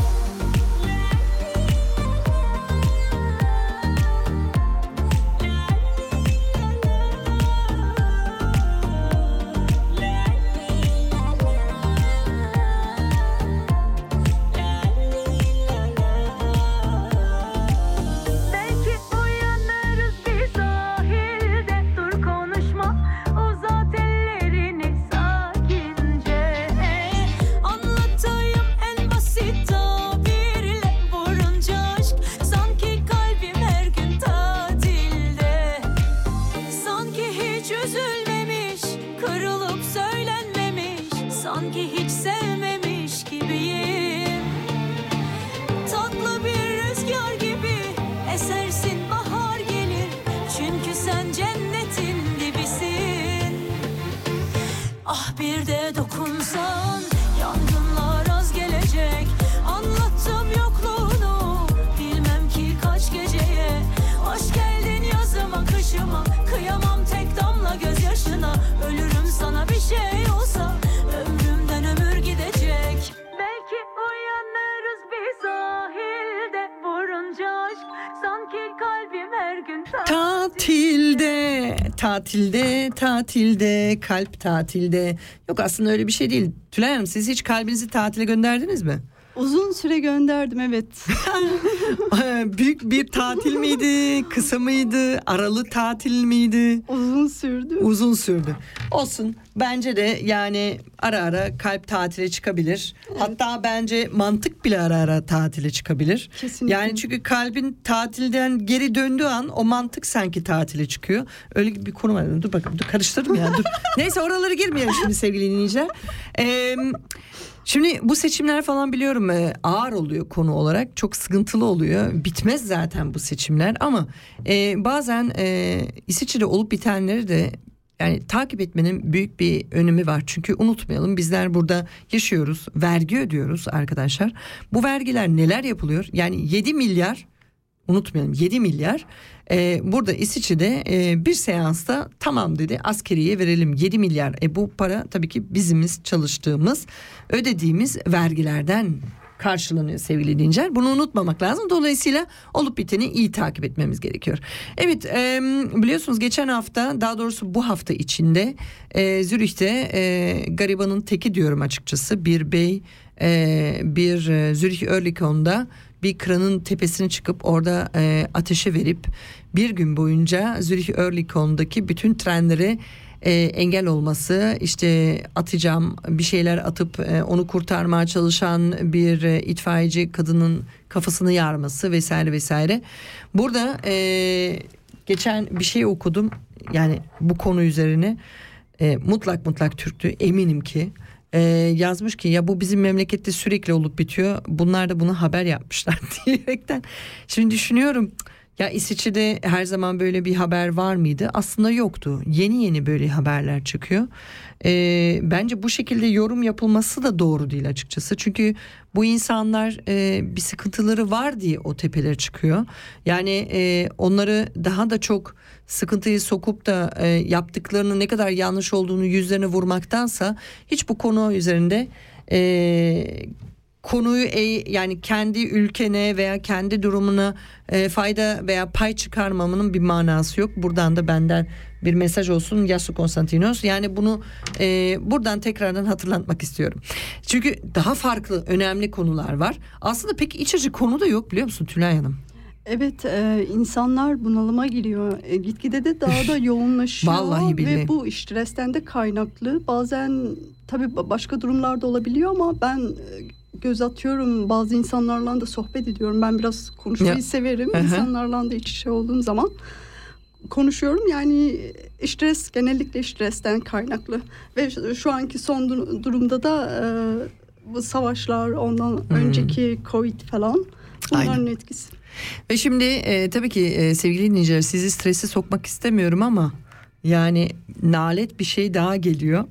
dokunsan yangınlar az gelecek. Anlattım yokluğunu bilmem ki kaç geceye. Hoş geldin yazıma kışıma, kıyamam tek damla gözyaşına. Ölürüm sana bir şey olsa, ömrümden ömür gidecek. Belki uyanırız bir sahilde, vurunca aşk sanki kalbim her gün Tatilde, kalp tatilde. Yok, aslında öyle bir şey değil. Tülay Hanım, siz hiç kalbinizi tatile gönderdiniz mi? Uzun süre gönderdim, evet. Büyük bir tatil miydi? Kısa mıydı? Aralı tatil miydi? Uzun sürdü. Olsun. Bence de yani ara ara kalp tatile çıkabilir. Evet. Hatta bence mantık bile ara ara tatile çıkabilir. Kesinlikle. Yani çünkü kalbin tatilden geri döndüğü an o mantık sanki tatile çıkıyor. Öyle bir konu var. Dur bakalım, karıştırdım ya. Dur. Neyse, oraları girmeyelim şimdi sevgili dinleyiciler. Şimdi bu seçimler falan biliyorum ağır oluyor konu olarak, çok sıkıntılı oluyor, bitmez zaten bu seçimler ama bazen İsviçre'de olup bitenleri de yani takip etmenin büyük bir önemi var. Çünkü unutmayalım, bizler burada yaşıyoruz, vergi ödüyoruz arkadaşlar. Bu vergiler neler yapılıyor? Yani 7 milyar, unutmayalım 7 milyar burada İsviçre'de bir seansta tamam dedi, askeriye verelim 7 milyar. Bu para tabii ki bizimiz çalıştığımız, ödediğimiz vergilerden karşılanıyor sevgili dinleyiciler. Bunu unutmamak lazım. Dolayısıyla olup biteni iyi takip etmemiz gerekiyor. Evet, biliyorsunuz geçen hafta, daha doğrusu bu hafta içinde Zürih'te garibanın teki diyorum açıkçası, bir bey bir Zürih Örlikon'da bir kranın tepesine çıkıp orada ateşe verip bir gün boyunca Zürih Örlikon'daki bütün trenlere engel olması, işte atacağım bir şeyler atıp onu kurtarmaya çalışan bir itfaiyeci kadının kafasını yarması vesaire vesaire. Burada geçen bir şey okudum yani bu konu üzerine, mutlak Türktü eminim ki. Yazmış ki ya bu bizim memlekette sürekli olup bitiyor, bunlar da bunu haber yapmışlar diyerekten. Şimdi düşünüyorum, ya İsviçre'de her zaman böyle bir haber var mıydı? Aslında yoktu. Yeni böyle haberler çıkıyor. Bence bu şekilde yorum yapılması da doğru değil açıkçası. Çünkü bu insanlar bir sıkıntıları var diye o tepelere çıkıyor. Yani onları daha da çok sıkıntıyı sokup da yaptıklarının ne kadar yanlış olduğunu yüzlerine vurmaktansa hiç bu konu üzerinde konuyu yani kendi ülkene veya kendi durumuna fayda veya pay çıkarmamanın bir manası yok. Buradan da benden bir mesaj olsun Yasu Konstantinos. Yani bunu buradan tekrardan hatırlatmak istiyorum. Çünkü daha farklı önemli konular var. Aslında pek iç açıcı konu da yok, biliyor musun Tülay Hanım? Evet, insanlar bunalıma giriyor. Gitgide de daha da yoğunlaşıyor. Vallahi billahi. Ve bu stresten de kaynaklı. Bazen tabii başka durumlarda olabiliyor ama ben göz atıyorum, bazı insanlarla da sohbet ediyorum. Ben biraz konuşmayı severim. İnsanlarla da iç içe olduğum zaman konuşuyorum. Yani genellikle stresten kaynaklı. Ve şu anki son durumda da bu savaşlar, ondan önceki Covid falan, bunların Aynen. etkisi. Ve şimdi tabii ki sevgili dinleyiciler, sizi strese sokmak istemiyorum ama yani nalet bir şey daha geliyor.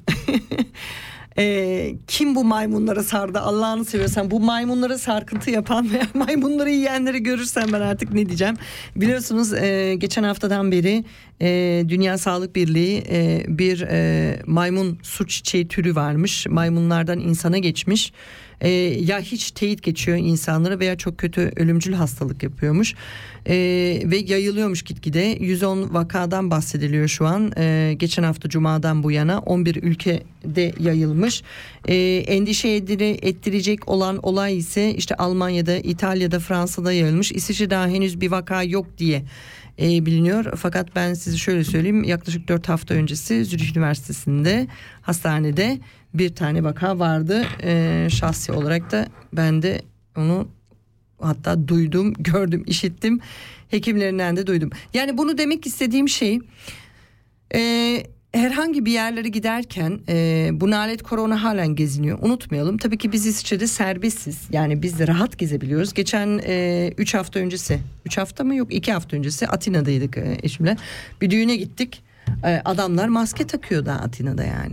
Kim bu maymunlara sardı, Allah'ını seviyorsan? Bu maymunlara sarkıntı yapan veya maymunları yiyenleri görürsem ben artık ne diyeceğim? Biliyorsunuz geçen haftadan beri Dünya Sağlık Birliği bir maymun su çiçeği türü varmış. Maymunlardan insana geçmiş. Ya hiç teyit geçiyor insanlara veya çok kötü ölümcül hastalık yapıyormuş. Ve yayılıyormuş gitgide. 110 vakadan bahsediliyor şu an. Geçen hafta Cuma'dan bu yana 11 ülkede yayılmış. Endişe ettirecek olan olay ise işte Almanya'da, İtalya'da, Fransa'da yayılmış. İsviçre'de daha henüz bir vaka yok diye biliniyor. Fakat ben size şöyle söyleyeyim, yaklaşık 4 hafta öncesi Zürich Üniversitesi'nde hastanede bir tane vaka vardı. Şahsi olarak da ben de onu hatta duydum, gördüm, işittim. Hekimlerinden de duydum. Yani bunu demek istediğim şey, herhangi bir yerlere giderken bu nalet korona halen geziniyor. Unutmayalım. Tabii ki biz İsviçre'de serbestiz. Yani biz de rahat gezebiliyoruz. Geçen 3 hafta öncesi, 3 hafta mı yok 2 hafta öncesi Atina'daydık eşimle. Bir düğüne gittik. Adamlar maske takıyor da Atina'da yani.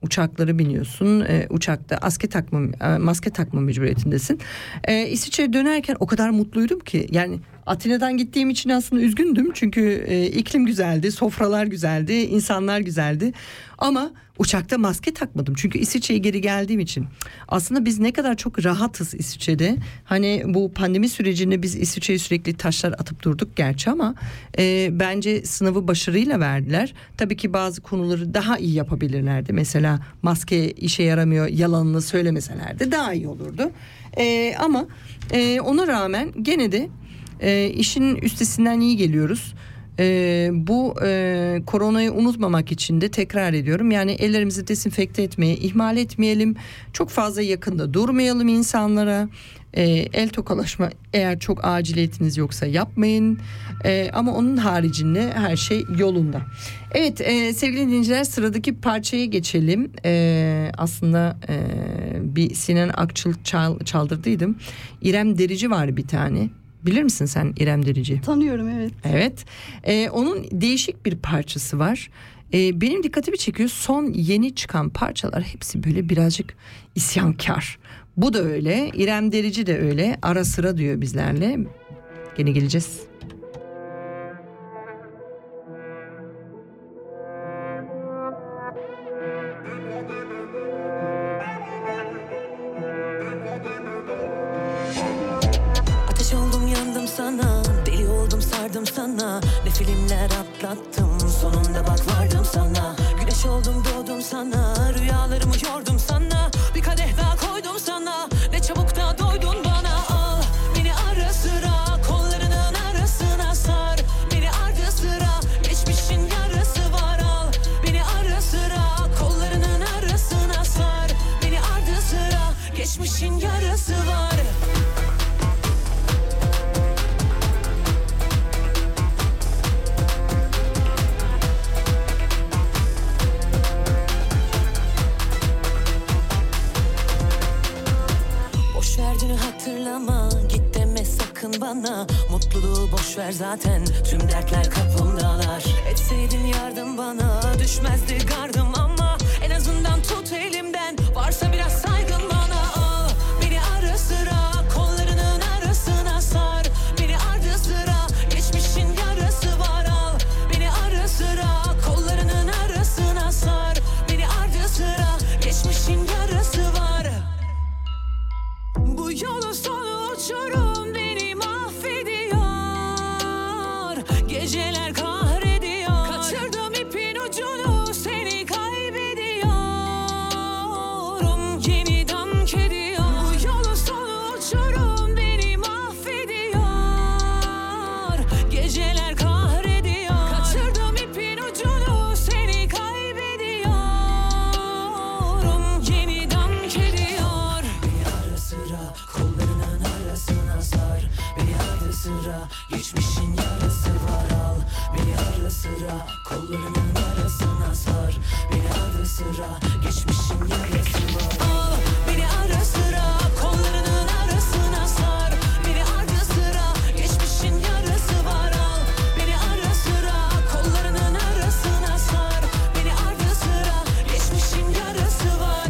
uçaklara biniyorsun. Uçakta maske takma mecburiyetindesin. İsviçre'ye dönerken o kadar mutluydum ki. Yani Atina'dan gittiğim için aslında üzgündüm. Çünkü iklim güzeldi, sofralar güzeldi, insanlar güzeldi. Ama uçakta maske takmadım. Çünkü İsviçre'ye geri geldiğim için. Aslında biz ne kadar çok rahatız İsviçre'de. Hani bu pandemi sürecinde biz İsviçre'ye sürekli taşlar atıp durduk gerçi ama bence sınavı başarıyla verdiler. Tabii ki bazı konuları daha iyi yapabilirlerdi. Mesela maske işe yaramıyor yalanını söylemeselerdi daha iyi olurdu. Ama ona rağmen gene de işin üstesinden iyi geliyoruz. Bu koronayı unutmamak için de tekrar ediyorum. Yani ellerimizi dezenfekte etmeyi ihmal etmeyelim. Çok fazla yakında durmayalım insanlara. El tokalaşma eğer çok aciliyetiniz yoksa yapmayın. Ama onun haricinde her şey yolunda. Evet sevgili dinleyiciler, sıradaki parçaya geçelim. Aslında bir Sinan Akçıl çaldırdıydım. İrem Derici var bir tane. Bilir misin sen İrem Derici? Tanıyorum, evet. Evet. Onun değişik bir parçası var. Benim dikkatimi çekiyor. Son yeni çıkan parçalar hepsi böyle birazcık isyankar. Bu da öyle. İrem Derici de öyle. Ara sıra diyor bizlerle. Gene geleceğiz. Sana deli oldum, sardım sana, ne filmler atlattım, sonunda bak vardım sana. Güneş oldum, doğdum sana, rüyalarımı yordum sana, bir kadeh daha koydum sana, ne çabuk da doydun bana. Al beni ara sıra, kollarının arasına sar, beni ardı sıra, geçmişin yarası var. Al beni ara sıra, kollarının arasına sar, beni ardı sıra, geçmişin yarası var. Hatırlama, git deme sakın bana, mutluluğu boş ver zaten, tüm dertler kapımdalar. Etseydin yardım bana, düşmezdi gardım ama en azından tut elimden, varsa biraz saygın bana. Al beni ara sıra, kollarının arasına sar, beni ardı sıra, geçmişin yarası var. Al beni ara sıra, kollarının arasına sar, beni ardı sıra, geçmişin yarası var. Bu yolun sonu uçurum, beni mahvediyor, geceler kahrediyor, kaçırdım ipin ucunu, seni kaybediyorum, yeni dank ediyor. Bu yolun sonu uçurum, beni mahvediyor, geceler kahrediyor, kaçırdım ipin ucunu, seni kaybediyorum, yeni dank ediyor. Bir ara sıra kollarının arasına sar, beni ardı sıra, geçmişin yarası var. Al beni ara sıra, kollarının arasına sar, beni ardı sıra, geçmişin yarası var. Al beni ara sıra, kollarının arasına sar, beni ardı sıra, geçmişin yarası var. Al beni ara sıra, kollarının arasına sar, beni ardı sıra, geçmişin yarası var.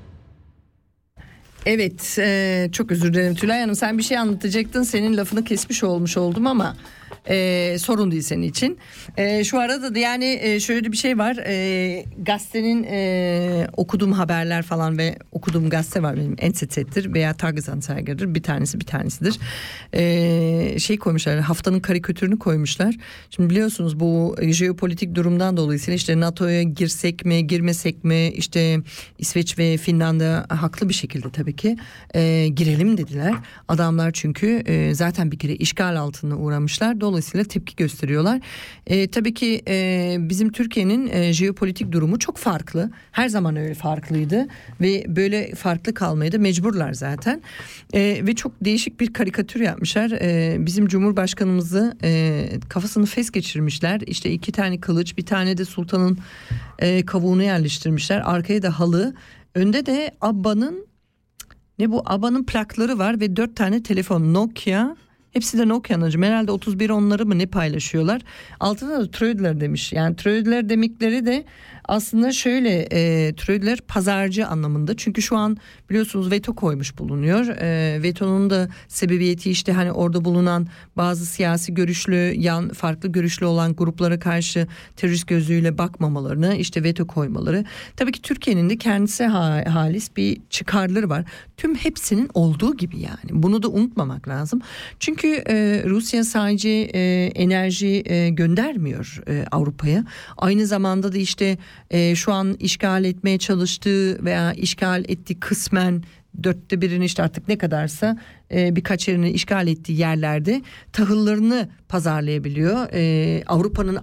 Evet, çok özür dilerim Tülay Hanım, sen bir şey anlatacaktın, senin lafını kesmiş olmuş oldum ama sorun değil senin için. Şu arada da yani şöyle bir şey var, gazetenin okuduğum haberler falan ve okuduğum gazete var benim, NZZ'dir veya Tagesanzeiger'dir, bir tanesidir. Şey koymuşlar, haftanın karikatürünü koymuşlar. Şimdi biliyorsunuz bu jeopolitik durumdan dolayısıyla işte NATO'ya girsek mi girmesek mi, işte İsveç ve Finlandiya haklı bir şekilde tabii ki girelim dediler. Adamlar çünkü zaten bir kere işgal altına uğramışlar. Dolayısıyla tepki gösteriyorlar. Tabii ki bizim Türkiye'nin jeopolitik durumu çok farklı. Her zaman öyle farklıydı ve böyle farklı kalmaya da mecburlar zaten. Ve çok değişik bir karikatür yapmışlar. Bizim Cumhurbaşkanımızı kafasını fes geçirmişler. İşte 2 tane kılıç, bir tane de sultanın kavuğunu yerleştirmişler. Arkaya da halı. Önde de ABBA'nın plakları var ve 4 tane telefon, Nokia. Hepsi de Nokia'nın. Herhalde 31 onları mı ne paylaşıyorlar. Altında da Trödler demiş. Yani Trödler demekleri de aslında şöyle türediler, pazarcı anlamında. Çünkü şu an biliyorsunuz veto koymuş bulunuyor. Vetonun da sebebiyeti işte hani orada bulunan bazı siyasi görüşlü, farklı görüşlü olan gruplara karşı terörist gözüyle bakmamalarını, işte veto koymaları. Tabii ki Türkiye'nin de kendisi halis bir çıkarları var. Tüm hepsinin olduğu gibi yani. Bunu da unutmamak lazım. Çünkü Rusya sadece enerji göndermiyor Avrupa'ya. Aynı zamanda da işte şu an işgal etmeye çalıştığı veya işgal ettiği kısmen 1/4'ini işte artık ne kadarsa birkaç yerini işgal ettiği yerlerde tahıllarını pazarlayabiliyor. Avrupa'nın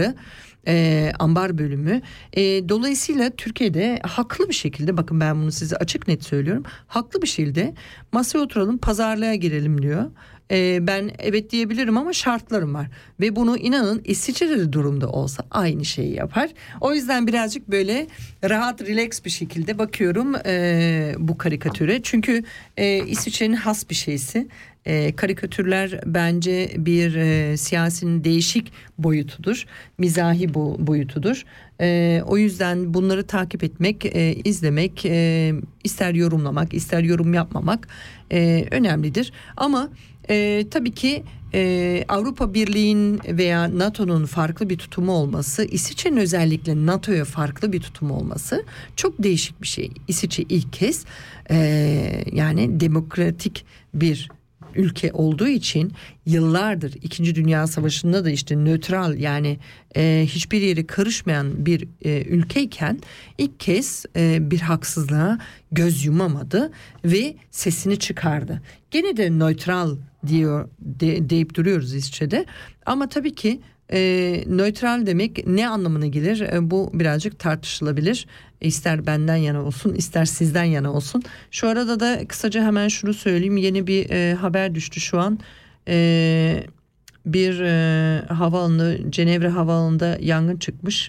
ambar bölümü. Dolayısıyla Türkiye'de haklı bir şekilde, bakın ben bunu size açık net söylüyorum, haklı bir şekilde masaya oturalım, pazarlığa girelim diyor. Ben evet diyebilirim ama şartlarım var ve bunu inanın İsviçre de durumda olsa aynı şeyi yapar. O yüzden birazcık böyle rahat, relax bir şekilde bakıyorum bu karikatüre. Çünkü İsviçre'nin has bir şeysi. Karikatürler bence bir siyasinin değişik boyutudur, mizahi boyutudur. O yüzden bunları takip etmek, izlemek, ister yorumlamak, ister yorum yapmamak önemlidir. Ama tabii ki Avrupa Birliği'nin veya NATO'nun farklı bir tutumu olması, İsviçre'nin özellikle NATO'ya farklı bir tutumu olması çok değişik bir şey. İsviçre ilk kez yani demokratik bir ülke olduğu için yıllardır, 2. Dünya Savaşı'nda da işte nötral, yani hiçbir yere karışmayan bir ülkeyken ilk kez bir haksızlığa göz yumamadı ve sesini çıkardı. Gene de nötral deyip duruyoruz İsviçre'de, ama tabii ki nötral demek ne anlamına gelir? Bu birazcık tartışılabilir. İster benden yana olsun, ister sizden yana olsun. Şu arada da kısaca hemen şunu söyleyeyim. Yeni bir haber düştü şu an. Bir havaalanı, Cenevre havaalanında yangın çıkmış.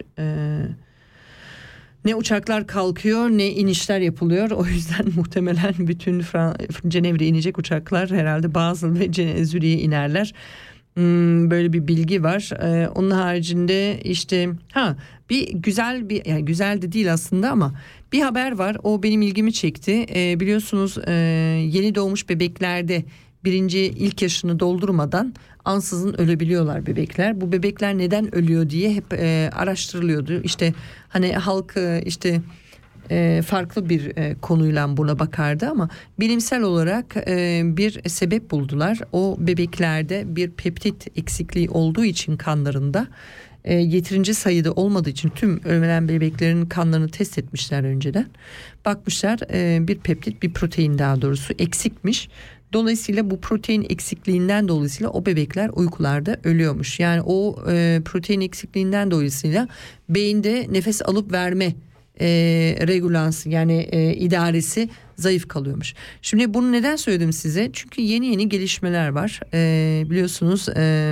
Ne uçaklar kalkıyor ne inişler yapılıyor. O yüzden muhtemelen bütün Cenevre'ye inecek uçaklar herhalde Basel ve Zürih'e inerler. Böyle bir bilgi var. Onun haricinde işte bir güzel yani güzel de değil aslında ama bir haber var. O benim ilgimi çekti. Biliyorsunuz yeni doğmuş bebeklerde ilk yaşını doldurmadan ansızın ölebiliyorlar bebekler. Bu bebekler neden ölüyor diye hep araştırılıyordu. İşte hani halk işte farklı bir konuyla buna bakardı ama bilimsel olarak bir sebep buldular. O bebeklerde bir peptit eksikliği olduğu için kanlarında yeterince sayıda olmadığı için tüm ölen bebeklerin kanlarını test etmişler önceden. Bakmışlar bir peptit, bir protein daha doğrusu eksikmiş. Dolayısıyla bu protein eksikliğinden dolayısıyla o bebekler uykularda ölüyormuş. Yani o protein eksikliğinden dolayısıyla beyinde nefes alıp verme regulansı, yani idaresi zayıf kalıyormuş. Şimdi bunu neden söyledim size? Çünkü yeni gelişmeler var. Biliyorsunuz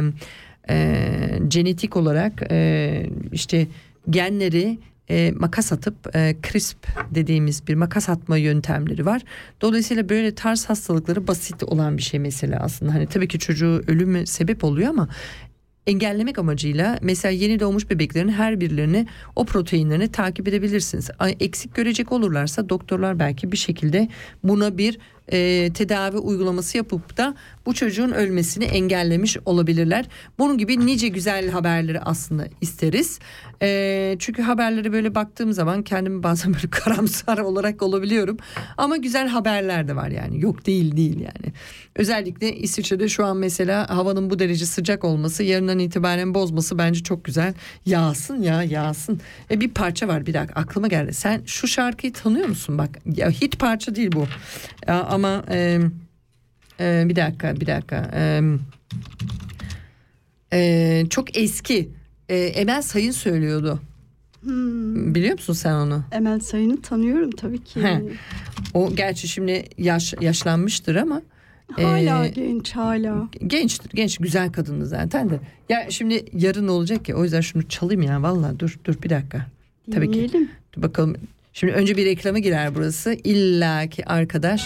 genetik olarak işte genleri makas atıp CRISP dediğimiz bir makas atma yöntemleri var. Dolayısıyla böyle tarz hastalıkları basit olan bir şey mesela aslında. Hani tabii ki çocuğu ölüme sebep oluyor ama engellemek amacıyla mesela yeni doğmuş bebeklerin her birilerini, o proteinlerini takip edebilirsiniz. Eksik görecek olurlarsa doktorlar belki bir şekilde buna bir tedavi uygulaması yapıp da bu çocuğun ölmesini engellemiş olabilirler. Bunun gibi nice güzel haberleri aslında isteriz. Çünkü haberlere böyle baktığım zaman kendimi bazen böyle karamsar olarak olabiliyorum. Ama güzel haberler de var yani. Yok değil yani. Özellikle İsviçre'de şu an mesela havanın bu derece sıcak olması, yarından itibaren bozması bence çok güzel. Yağsın. Bir parça var, bir dakika aklıma geldi. Sen şu şarkıyı tanıyor musun? Bak ya, hit parça değil bu. Ama bir dakika. Çok eski. Emel Sayın söylüyordu. Biliyor musun sen onu? Emel Sayın'ı tanıyorum tabii ki. O gerçi şimdi yaşlanmıştır ama hala genç, hala. Genç, güzel kadındı zaten de. Ya şimdi yarın olacak ya, o yüzden şunu çalayım ya, vallahi dur bir dakika. Tabii ki. Dur bakalım. Şimdi önce bir reklama girer burası. İlla ki arkadaş.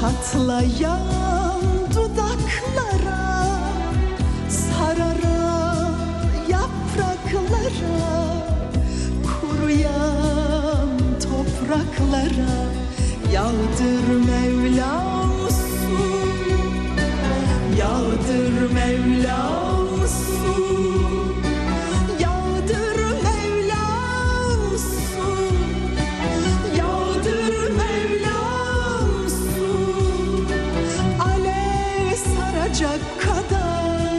Çatlayan dudaklara, sararan yapraklara, kuruyan topraklara yağdır Mevlam su, yağdır Mevlam su, yağdır Mevlam su, yağdır Mevlam su, alev saracak kadar,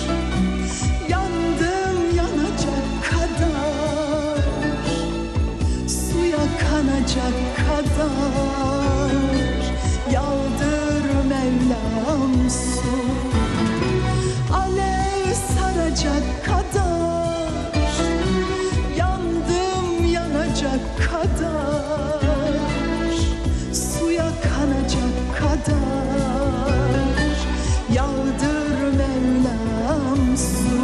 yandım yanacak kadar, suya kanacak kadar, yağdır Mevlam su, alev saracak kadar, yandım yanacak kadar, suya kanacak kadar, yağdır Mevlam su.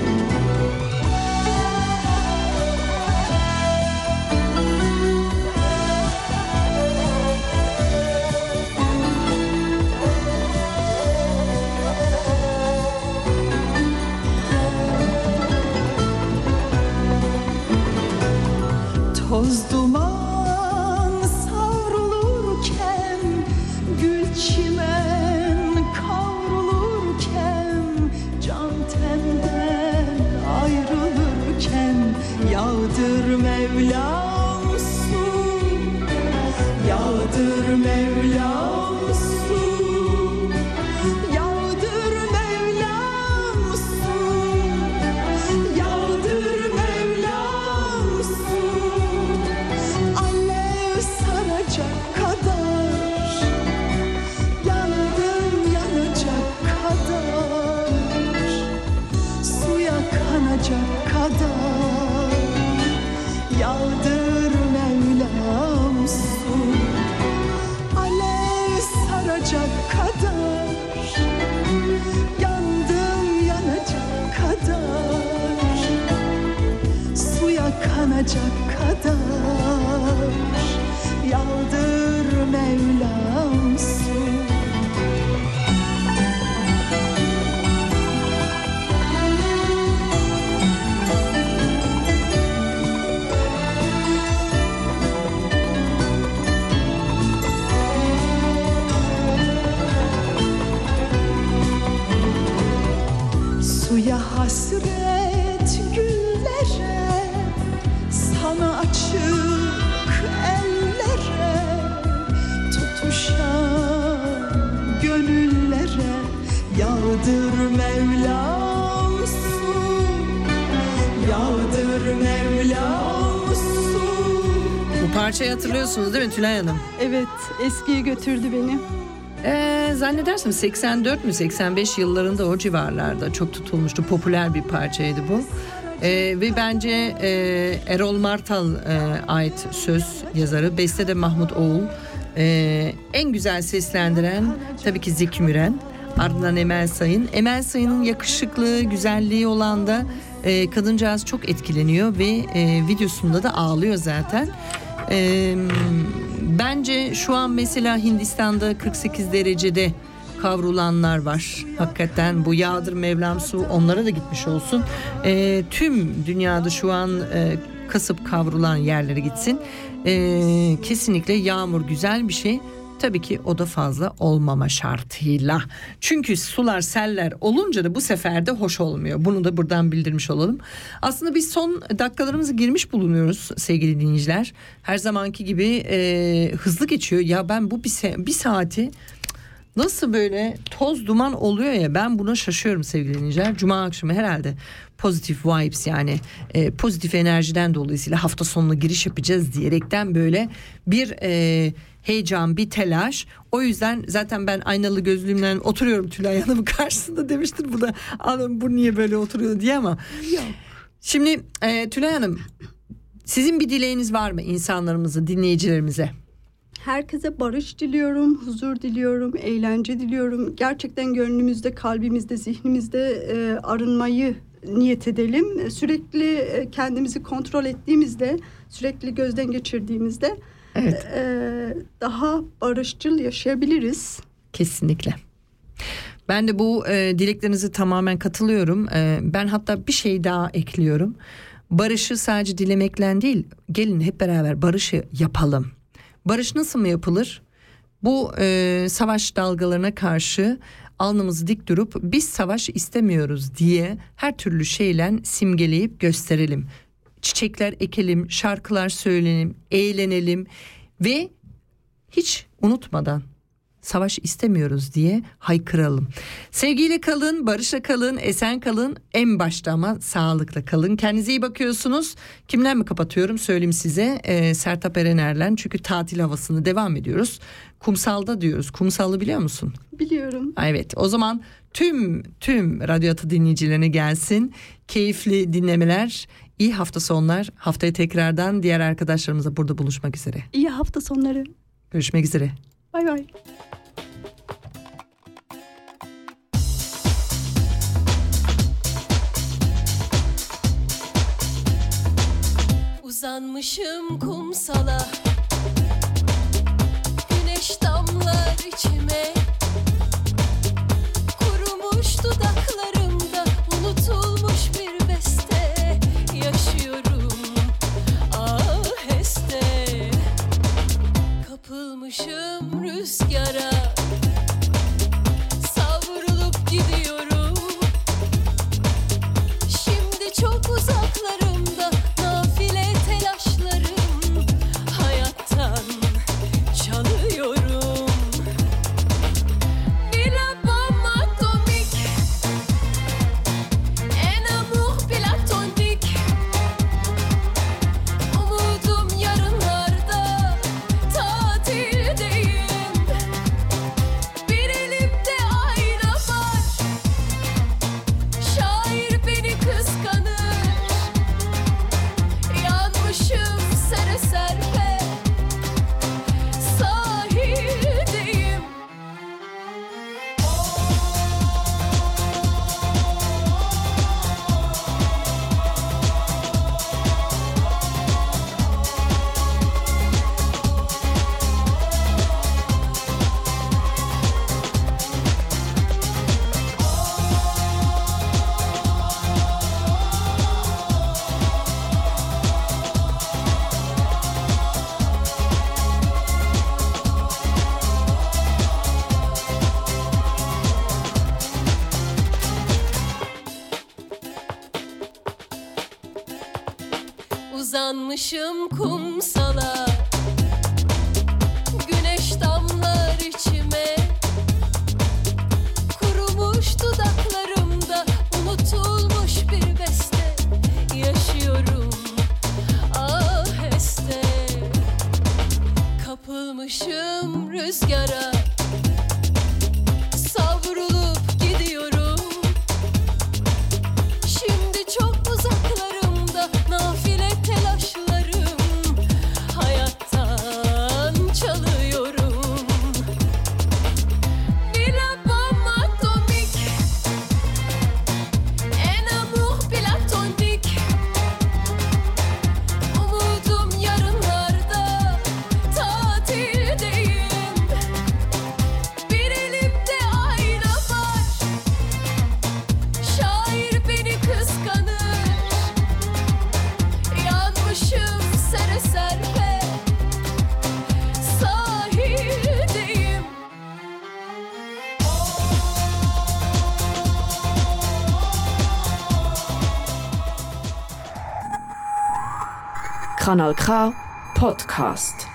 Toz duman savrulurken, gül çimen kavrulurken, can tenden ayrılırken yağdır Mevlam su, yağdır Mevlam su, yağdır Mevlam su, yağdır Mevlam su, alev saracak kadar, yandım yanacak kadar, suya kanacak kadar, yağdır Mevlam su, alev saracak kadar, yandım yanacak kadar, suya kanacak kadar, yağdır Mevlam su. Suya hasret güllere, sana açık ellere, tutuşan gönüllere yağdır Mevlam su, yağdır Mevlam su. Bu parçayı hatırlıyorsunuz değil mi Tülay Hanım? Evet, eskiye götürdü beni. Zannedersem 84 mü 85 yıllarında o civarlarda çok tutulmuştu. Popüler bir parçaydı bu. Ve bence Erol Martal ait söz yazarı. Beste de Mahmut Oğul. En güzel seslendiren tabii ki Zeki Müren. Ardından Emel Sayın. Emel Sayın'ın yakışıklığı, güzelliği olan da kadıncağız çok etkileniyor ve videosunda da ağlıyor zaten. Bence şu an mesela Hindistan'da 48 derecede kavrulanlar var. Hakikaten bu yağdır Mevlam su onlara da gitmiş olsun. Tüm dünyada şu an kasıp kavrulan yerlere gitsin. Kesinlikle yağmur güzel bir şey. Tabii ki o da fazla olmama şartıyla. Çünkü sular, seller olunca da bu sefer de hoş olmuyor. Bunu da buradan bildirmiş olalım. Aslında biz son dakikalarımızı girmiş bulunuyoruz sevgili dinleyiciler. Her zamanki gibi hızlı geçiyor. Ya ben bu bir saati nasıl böyle toz duman oluyor ya, ben buna şaşıyorum sevgili dinleyiciler. Cuma akşamı herhalde pozitif vibes, yani pozitif enerjiden dolayısıyla hafta sonuna giriş yapacağız diyerekten böyle bir heyecan, bir telaş. O yüzden zaten ben aynalı gözlüğümle oturuyorum Tülay Hanım'ın karşısında, demiştir bu da adam bu niye böyle oturuyor diye, ama yok. Şimdi Tülay Hanım, sizin bir dileğiniz var mı insanlarımıza, dinleyicilerimize? Herkese barış diliyorum, huzur diliyorum, eğlence diliyorum. Gerçekten gönlümüzde, kalbimizde, zihnimizde arınmayı niyet edelim. Sürekli kendimizi kontrol ettiğimizde, sürekli gözden geçirdiğimizde Evet. Daha barışçıl yaşayabiliriz. Kesinlikle. Ben de bu dileklerinize tamamen katılıyorum. Ben hatta bir şey daha ekliyorum. Barışı sadece dilemekle değil, gelin hep beraber barışı yapalım. Barış nasıl mı yapılır? Bu savaş dalgalarına karşı alnımızı dik durup biz savaş istemiyoruz diye her türlü şeyle simgeleyip gösterelim. Çiçekler ekelim, şarkılar söyleyelim, eğlenelim ve hiç unutmadan savaş istemiyoruz diye haykıralım. Sevgiyle kalın, barışla kalın, esen kalın. En başta ama sağlıkla kalın. Kendinize iyi bakıyorsunuz. Kimler mi kapatıyorum söyleyeyim size. Sertab Erener'le, çünkü tatil havasını devam ediyoruz. Kumsalda diyoruz. Kumsal'ı biliyor musun? Biliyorum. Evet, o zaman tüm Radyo Ata dinleyicilerine gelsin. Keyifli dinlemeler. İyi hafta sonlar. Haftaya tekrardan diğer arkadaşlarımızla burada buluşmak üzere. İyi hafta sonları. Görüşmek üzere. Bay bay. Uzanmışım kumsala, güneş damlar içime, kurumuş dudaklarımda unutulmuş bir beste, yaşıyorum aheste, kapılmışım rüzgara, savrulup gidiyorum, şimdi çok uzaklarımda nafile telaşlarım, hayattan çalıyorum. Bir album atomik, un amour platonik, umudum yarınlarda, tatildeyim. Bir elimde ayna var, şair beni kıskanır, yanmışım sere serpe, sahildeyim. Uzanmışım kumsala, güneş damlar içime, kurumuş dudaklarımda unutulmuş bir beste, yaşıyorum aheste, kapılmışım rüzgara, savrulup gidiyorum, şimdi çok uzaklarımda nafile telaşlarım, hayattan çalıyorum. Bir album atomik, un amour platonik, umudum yarınlarda, tatildeyim. Bir elimde ayna var, şair beni kıskanır, yanmışım sere serpe, sahildeyim. Kanal K Podcast.